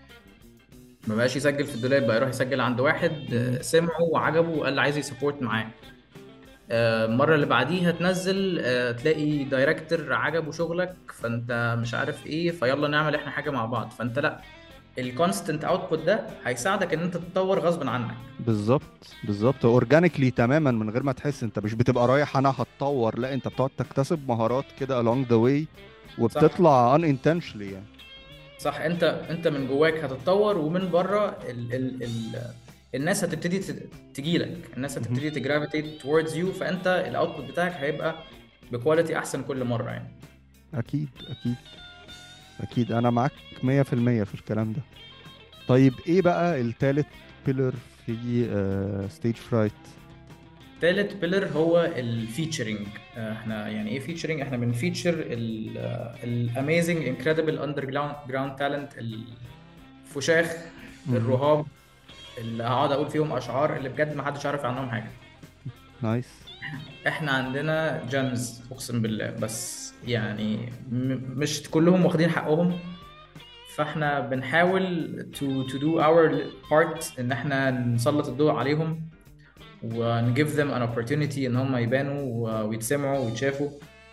ما بقاش يسجل في الدولاب، بقى يروح يسجل عند واحد مهم. آه، سمعه وعجبه وقال عايز يسبورت معاه. آه، المره اللي بعديها تنزل آه، تلاقي دايركتور عجبه شغلك، فانت مش عارف ايه، فيلا نعمل احنا حاجه مع بعض. فانت لا، الكونستنت اوتبوت ده هيساعدك ان انت تتطور غصب عنك. بالظبط بالظبط، اورجانيكلي تماما من غير ما تحس. انت مش بتبقى رايح انا هتطور، لا انت بتقعد تكتسب مهارات كده along the way، صح. وبتطلع unintentionally يعني. صح. انت انت من جواك هتتطور، ومن بره ال ال ال الناس هتبتدي تجي لك، الناس مهم. هتبتدي تجرافيتيت towards you. فانت الاوتبوت بتاعك هيبقى بكواليتي احسن كل مره يعني. اكيد اكيد اكيد، انا معاك مية في المية في الكلام ده. طيب ايه بقى التالت بيلر في ستيج فرايت؟ تالت بيلر هو الفيتشرنج. احنا يعني ايه فيتشرنج؟ احنا بنفيتشر الاميزنج انكريدبل اندر جراوند تالنت، الفشاخ الرهاب اللي هقعد اقول فيهم اشعار اللي بجد ما حدش عارف عنهم حاجه. نايس. احنا عندنا جيمز اقسم بالله، بس يعني م- مش كلهم واخدين حقهم. فاحنا بنحاول to to do our part ان احنا نسلط الضوء عليهم، ون give them an opportunity ان هم يبانوا و- ويتسمعوا ويتشافوا.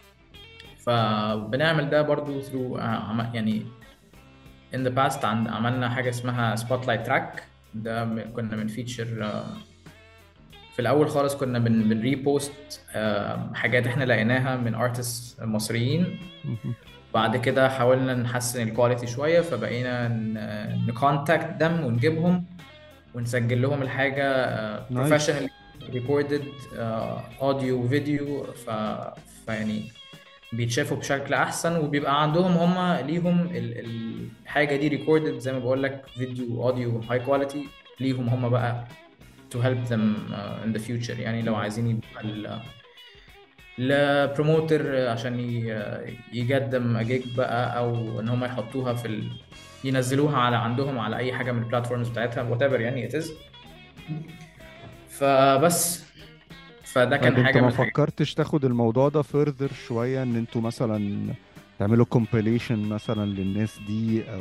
فبنعمل ده برضو through آه، عم- يعني in the past عند عملنا حاجة اسمها spotlight track. ده م- كنا بنفيتشر في الاول خالص، كنا بن بنريبوست حاجات احنا لقيناها من ارتست مصريين. مهم. بعد كده حاولنا نحسن الكواليتي شويه، فبقينا نكونتاكت دم ونجيبهم ونسجل لهم الحاجه نايس. بروفيشنال ريكوردد اوديو وفيديو. ف فيعني بيتشافوا بشكل احسن، وبيبقى عندهم هم ليهم ال- ال- الحاجه دي ريكوردد زي ما بقول لك، فيديو اوديو هاي كواليتي ليهم هم بقى to help them uh, in the future. يعني لو عايزين يبقى ال- البروموتر عشان ي- يقدم جيج بقى، او ان هم يحطوها في ال... ينزلوها على عندهم على اي حاجه من البلاتفورمز بتاعتها whatever يعني it is. فبس فده كان طيب انت حاجه من ما الحاجات. فكرتش تاخد الموضوع ده further شوية، ان انتوا مثلا تعملوا compilation مثلا للناس دي، او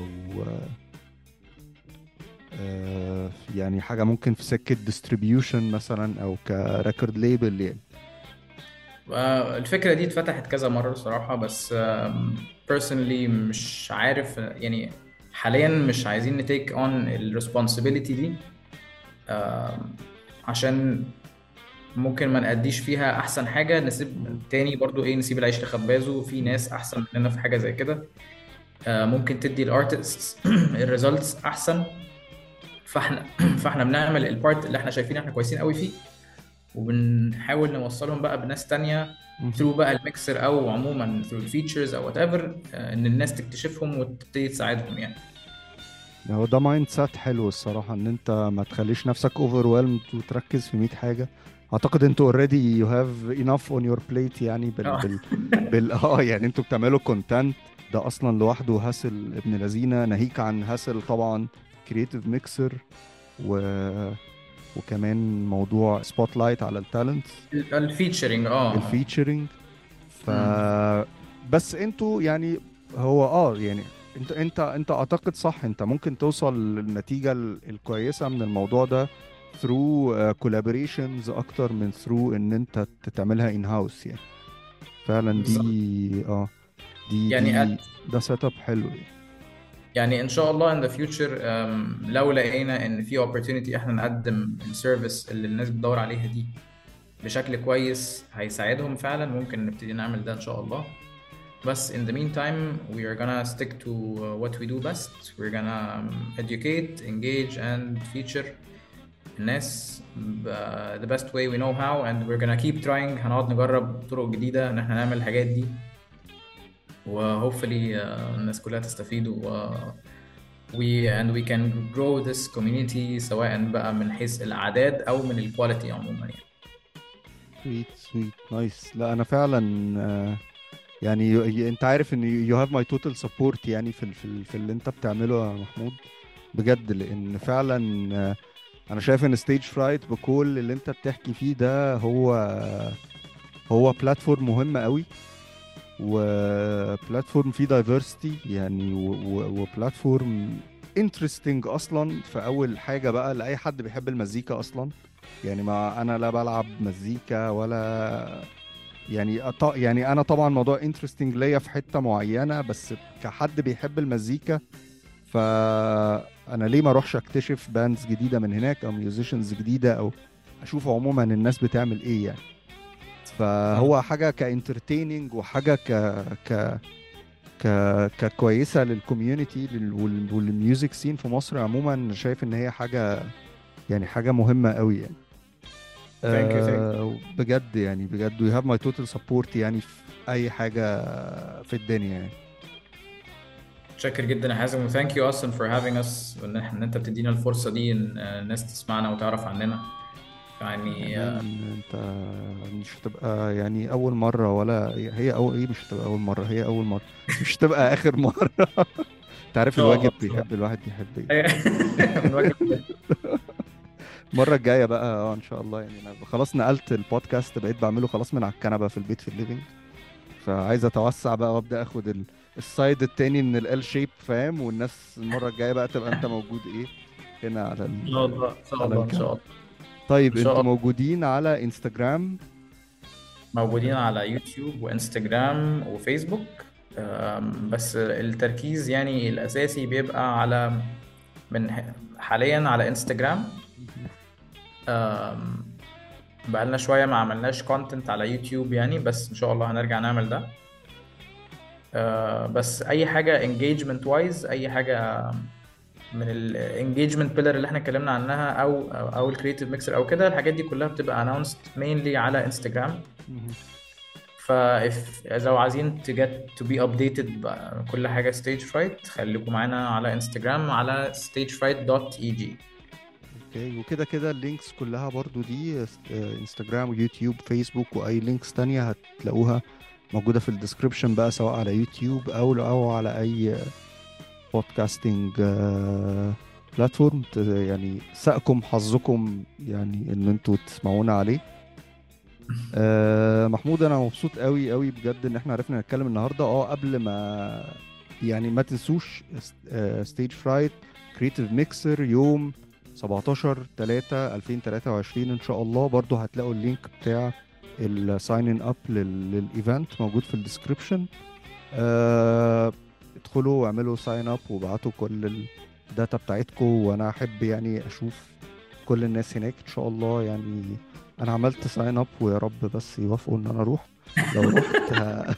آه، يعني حاجة ممكن في سكة distribution مثلا، او كريكورد ليبل يعني؟ آه، الفكره دي اتفتحت كذا مره صراحه، بس آم، personally مش عارف يعني. حاليا مش عايزين نتيك اون الريسبونسبيلتي دي، آم، عشان ممكن ما نأديش فيها احسن حاجه، نسيب مم. تاني برضو ايه، نسيب العيش لخبازه. في مم. ناس احسن مننا في حاجه زي كده، آه، ممكن تدي الارتستس الريزلتس احسن. فاحنا فاحنا بنعمل البارت اللي احنا شايفين احنا كويسين قوي فيه، وبنحاول نوصلهم بقى بناس تانية مم. ثرو بقى الميكسر، او عموما ثرو الفيتشرز او وات ايفر، ان الناس تكتشفهم وتبتدي تساعدهم يعني. هو ده مايند سيت حلو الصراحة، ان انت ما تخليش نفسك overwhelmed وتركز في مية حاجة. اعتقد انتوا already you have enough on your plate يعني، بال اه. بال بال اه يعني انتوا بتعملوا كونتنت، ده اصلا لوحده هاسل ابن لذينه، ناهيك عن هاسل طبعا كرييتيف ميكسر، و... وكمان موضوع سبوت لايت على التالنتس، الفيتشرنج اه. الفيتشرنج. ف امم. بس انتوا يعني، هو اه يعني انت انت انت اعتقد صح، انت ممكن توصل للنتيجة ال- الكويسة من الموضوع ده through uh, collaborations اكتر من through ان انت تعملها in house يعني. فعلا بالظبط. دي اه دي يعني دي ده سيت اب حلو يعني. يعني ان شاء الله in the future أم، لو لقينا ان في opportunity احنا نقدم السيرفيس اللي الناس بتدور عليها دي بشكل كويس هيساعدهم فعلا، ممكن نبتدي نعمل ده ان شاء الله. بس in the meantime we are gonna stick to uh, what we do best. We're gonna um, educate, engage and feature الناس ب- the best way we know how, and we're gonna keep trying. هنقعد نجرب طرق جديدة ان احنا نعمل الحاجات دي، و hopefully uh, الناس كلها تستفيد، و we and we can grow this community سواء بقى من حيث الأعداد أو من الكواليتي عموما يعني. سويت سويت نايس. لا انا فعلا آه، يعني ي- ي- انت عارف ان you have my total support يعني في ال- في ال- في اللي انت بتعمله يا محمود بجد. لان فعلا آه، انا شايف ان ستيج فرايت بكل اللي انت بتحكي فيه ده هو هو بلاتفورم مهم قوي، وبلاتفورم فيه دايفرستي يعني، وبلاتفورم انترستنج اصلا في اول حاجه بقى لاي حد بيحب المزيكا اصلا. يعني ما انا لا بلعب مزيكا ولا يعني أط... يعني انا طبعا موضوع انترستنج ليا في حته معينه، بس كحد بيحب المزيكا فانا ليه ما اروحش اكتشف باندز جديده من هناك او ميوزيشنز جديده، او اشوف عموما الناس بتعمل ايه يعني. صح. فهو حاجه كانترتيننج وحاجه ك ك ك ككويسه للكوميونتي لل... وال- والميوزك سين في مصر عموما. شايف ان هي حاجه يعني حاجه مهمه قوي يعني. Thank you, thank you. أه بجد يعني بجد you have my total support يعني في اي حاجه في الدنيا يعني. متشكر جدا يا حازم، و thank you اصلا for having us، وان إحنا- ان انت بتدينا الفرصة دي ان آه، الناس تسمعنا وتعرف عننا يعني. آه، مان انت مش هتبقى يعني اول مرة، ولا هي اول ايه، مش هتبقى اول مرة، هي اول مرة بس مش هتبقى اخر مرة. انت ان عارف شاء الله الواجب ان شاء بيحب الله. الواحد يحب ايه. أيوة. من وجه الله. المرة الجاية بقى اه ان شاء الله يعني. انا خلاص نقلت البودكاست، بقيت بعمله خلاص من على الكنبة في البيت في الليفينج، فعايز اتوسع بقى وابدا اخد ال... السايد التاني من ال شيب فاهم. والناس المرة الجاية بقى تبقى انت موجود ايه هنا على ان شاء ال... الله ان شاء على الله ان الكنبة. شاء الله ان طيب شاء انتوا الله. موجودين على انستجرام؟ موجودين على يوتيوب وانستجرام وفيسبوك. أم، بس التركيز يعني الاساسي بيبقى على من ح- حاليا على انستجرام. أم، بقالنا شوية ما عملناش كونتنت على يوتيوب يعني، بس إن شاء الله هنرجع نعمل ده. أه، بس أي حاجة engagement wise، أي حاجة من ال engagement pillar اللي احنا اتكلمنا عنها أو أو, أو ال creative mixer أو كده، الحاجات دي كلها بتبقى announced mainly على انستجرام. مهم. فا if لو عايزين to get to be updated بكل حاجة stage fright، خليكم معانا على انستجرام على stagefright دوت اي جي. اوكي. وكده كده اللينكس كلها برضو دي آه، انستجرام ويوتيوب فيسبوك واي لينكس تانية هتلاقوها موجودة في الديسكريبشن بقى، سواء على يوتيوب او او على اي بودكاستنج بلاتفورم يعني سأكم حظكم يعني ان انتوا تسمعونا عليه. آه، محمود انا مبسوط قوي قوي بجد ان احنا عرفنا نتكلم النهارده. اه قبل ما يعني ما تنسوش ستيج فرايت كريتيف ميكسر يوم سبعتاشر تلاتة ألفين وتلاتة وعشرين ان شاء الله. برضو هتلاقوا اللينك بتاع الساين ان اب للايفنت موجود في الديسكريبشن. آه، ادخلوا واعملوا ساين اب وابعتوا كل الداتا بتاعتكم، وانا احب يعني اشوف كل الناس هناك ان شاء الله يعني. انا عملت ساين اب ويا رب بس يوافقوا ان انا اروح. لو رحت ه-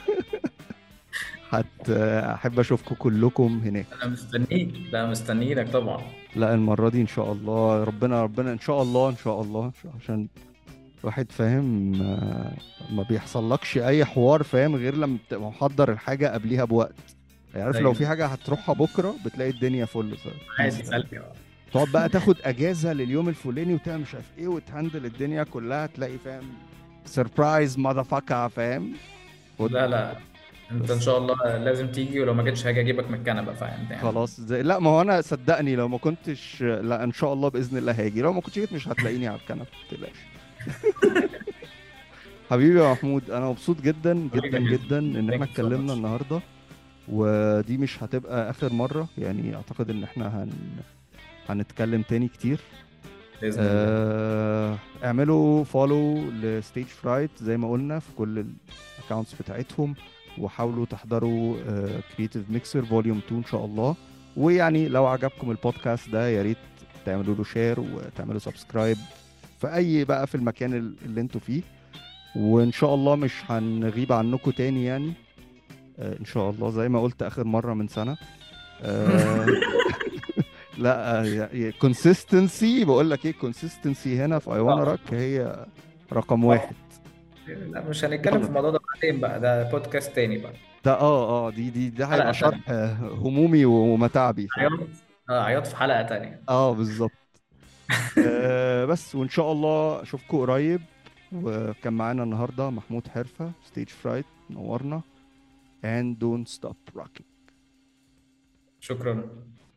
هت احب اشوفكم كلكم هناك. أنا مستنيك، لا مستنيينك طبعا. لا المرة دي ان شاء الله، ربنا ربنا ان شاء الله ان شاء الله عشان الواحد فاهم آه، ما بيحصلكش اي حوار فاهم غير لما بتبقى محضر الحاجة قبليها بوقت. يعني عارف لو أيوه. في حاجة هتروحها بكرة بتلاقي الدنيا فل بيس عادي فاهم. سلبي. تقعد بقى تاخد اجازة لليوم الفلاني وتعمل مش عارف ايه وتهندل الدنيا كلها، تلاقي فاهم سربرايز ماذا فاهم. خد لا لا، انت ان بس. شاء الله لازم تيجي، ولو ما جيتش هاجي اجيبك من الكنبه، فاهم يعني. خلاص زي لا ما هو انا صدقني لو ما كنتش، لا ان شاء الله باذن الله هاجي. لو ما كنتش جيت مش هتلاقيني على الكنبه ما تقلقش. حبيبي يا محمود انا مبسوط جدا جدا حبيبي جدا. جدا ان احنا ثانك يو سو اتكلمنا ماتش. النهارده. ودي مش هتبقى اخر مره يعني، اعتقد ان احنا هن... هنتكلم تاني كتير. باذن الله. آه، اعملوا فولو لستيج فرايت زي ما قلنا في كل الاكونتس بتاعتهم، وحاولوا تحضروا كرييتيف ميكسر فوليوم اتنين ان شاء الله. ويعني لو عجبكم البودكاست ده يا ريت تعملوا له شير وتعملوا سبسكرايب في اي بقى في المكان ال- اللي انتوا فيه. وان شاء الله مش هنغيب عنكم تاني يعني. آه، ان شاء الله زي ما قلت اخر مرة من سنة. آه، لا كونسيستنسي، بقول لك ايه، كونسيستنسي هنا في اي وانا آه. راك هي رقم واحد. لا مش هنتكلم في يلا، الموضوع ده بعدين بقى، ده بودكاست تاني بقى. ده اه اه دي دي ده حلقة هيبقى تانية. شرح آه، همومي ومتاعبي في ال... عياط. اه عياط في حلقة تانية. اه بالظبط. آه بس وان شاء الله اشوفكم قريب. وكان معانا النهارده محمود حرفة ستيج فرايت، نورنا. and don't stop rocking. شكرا.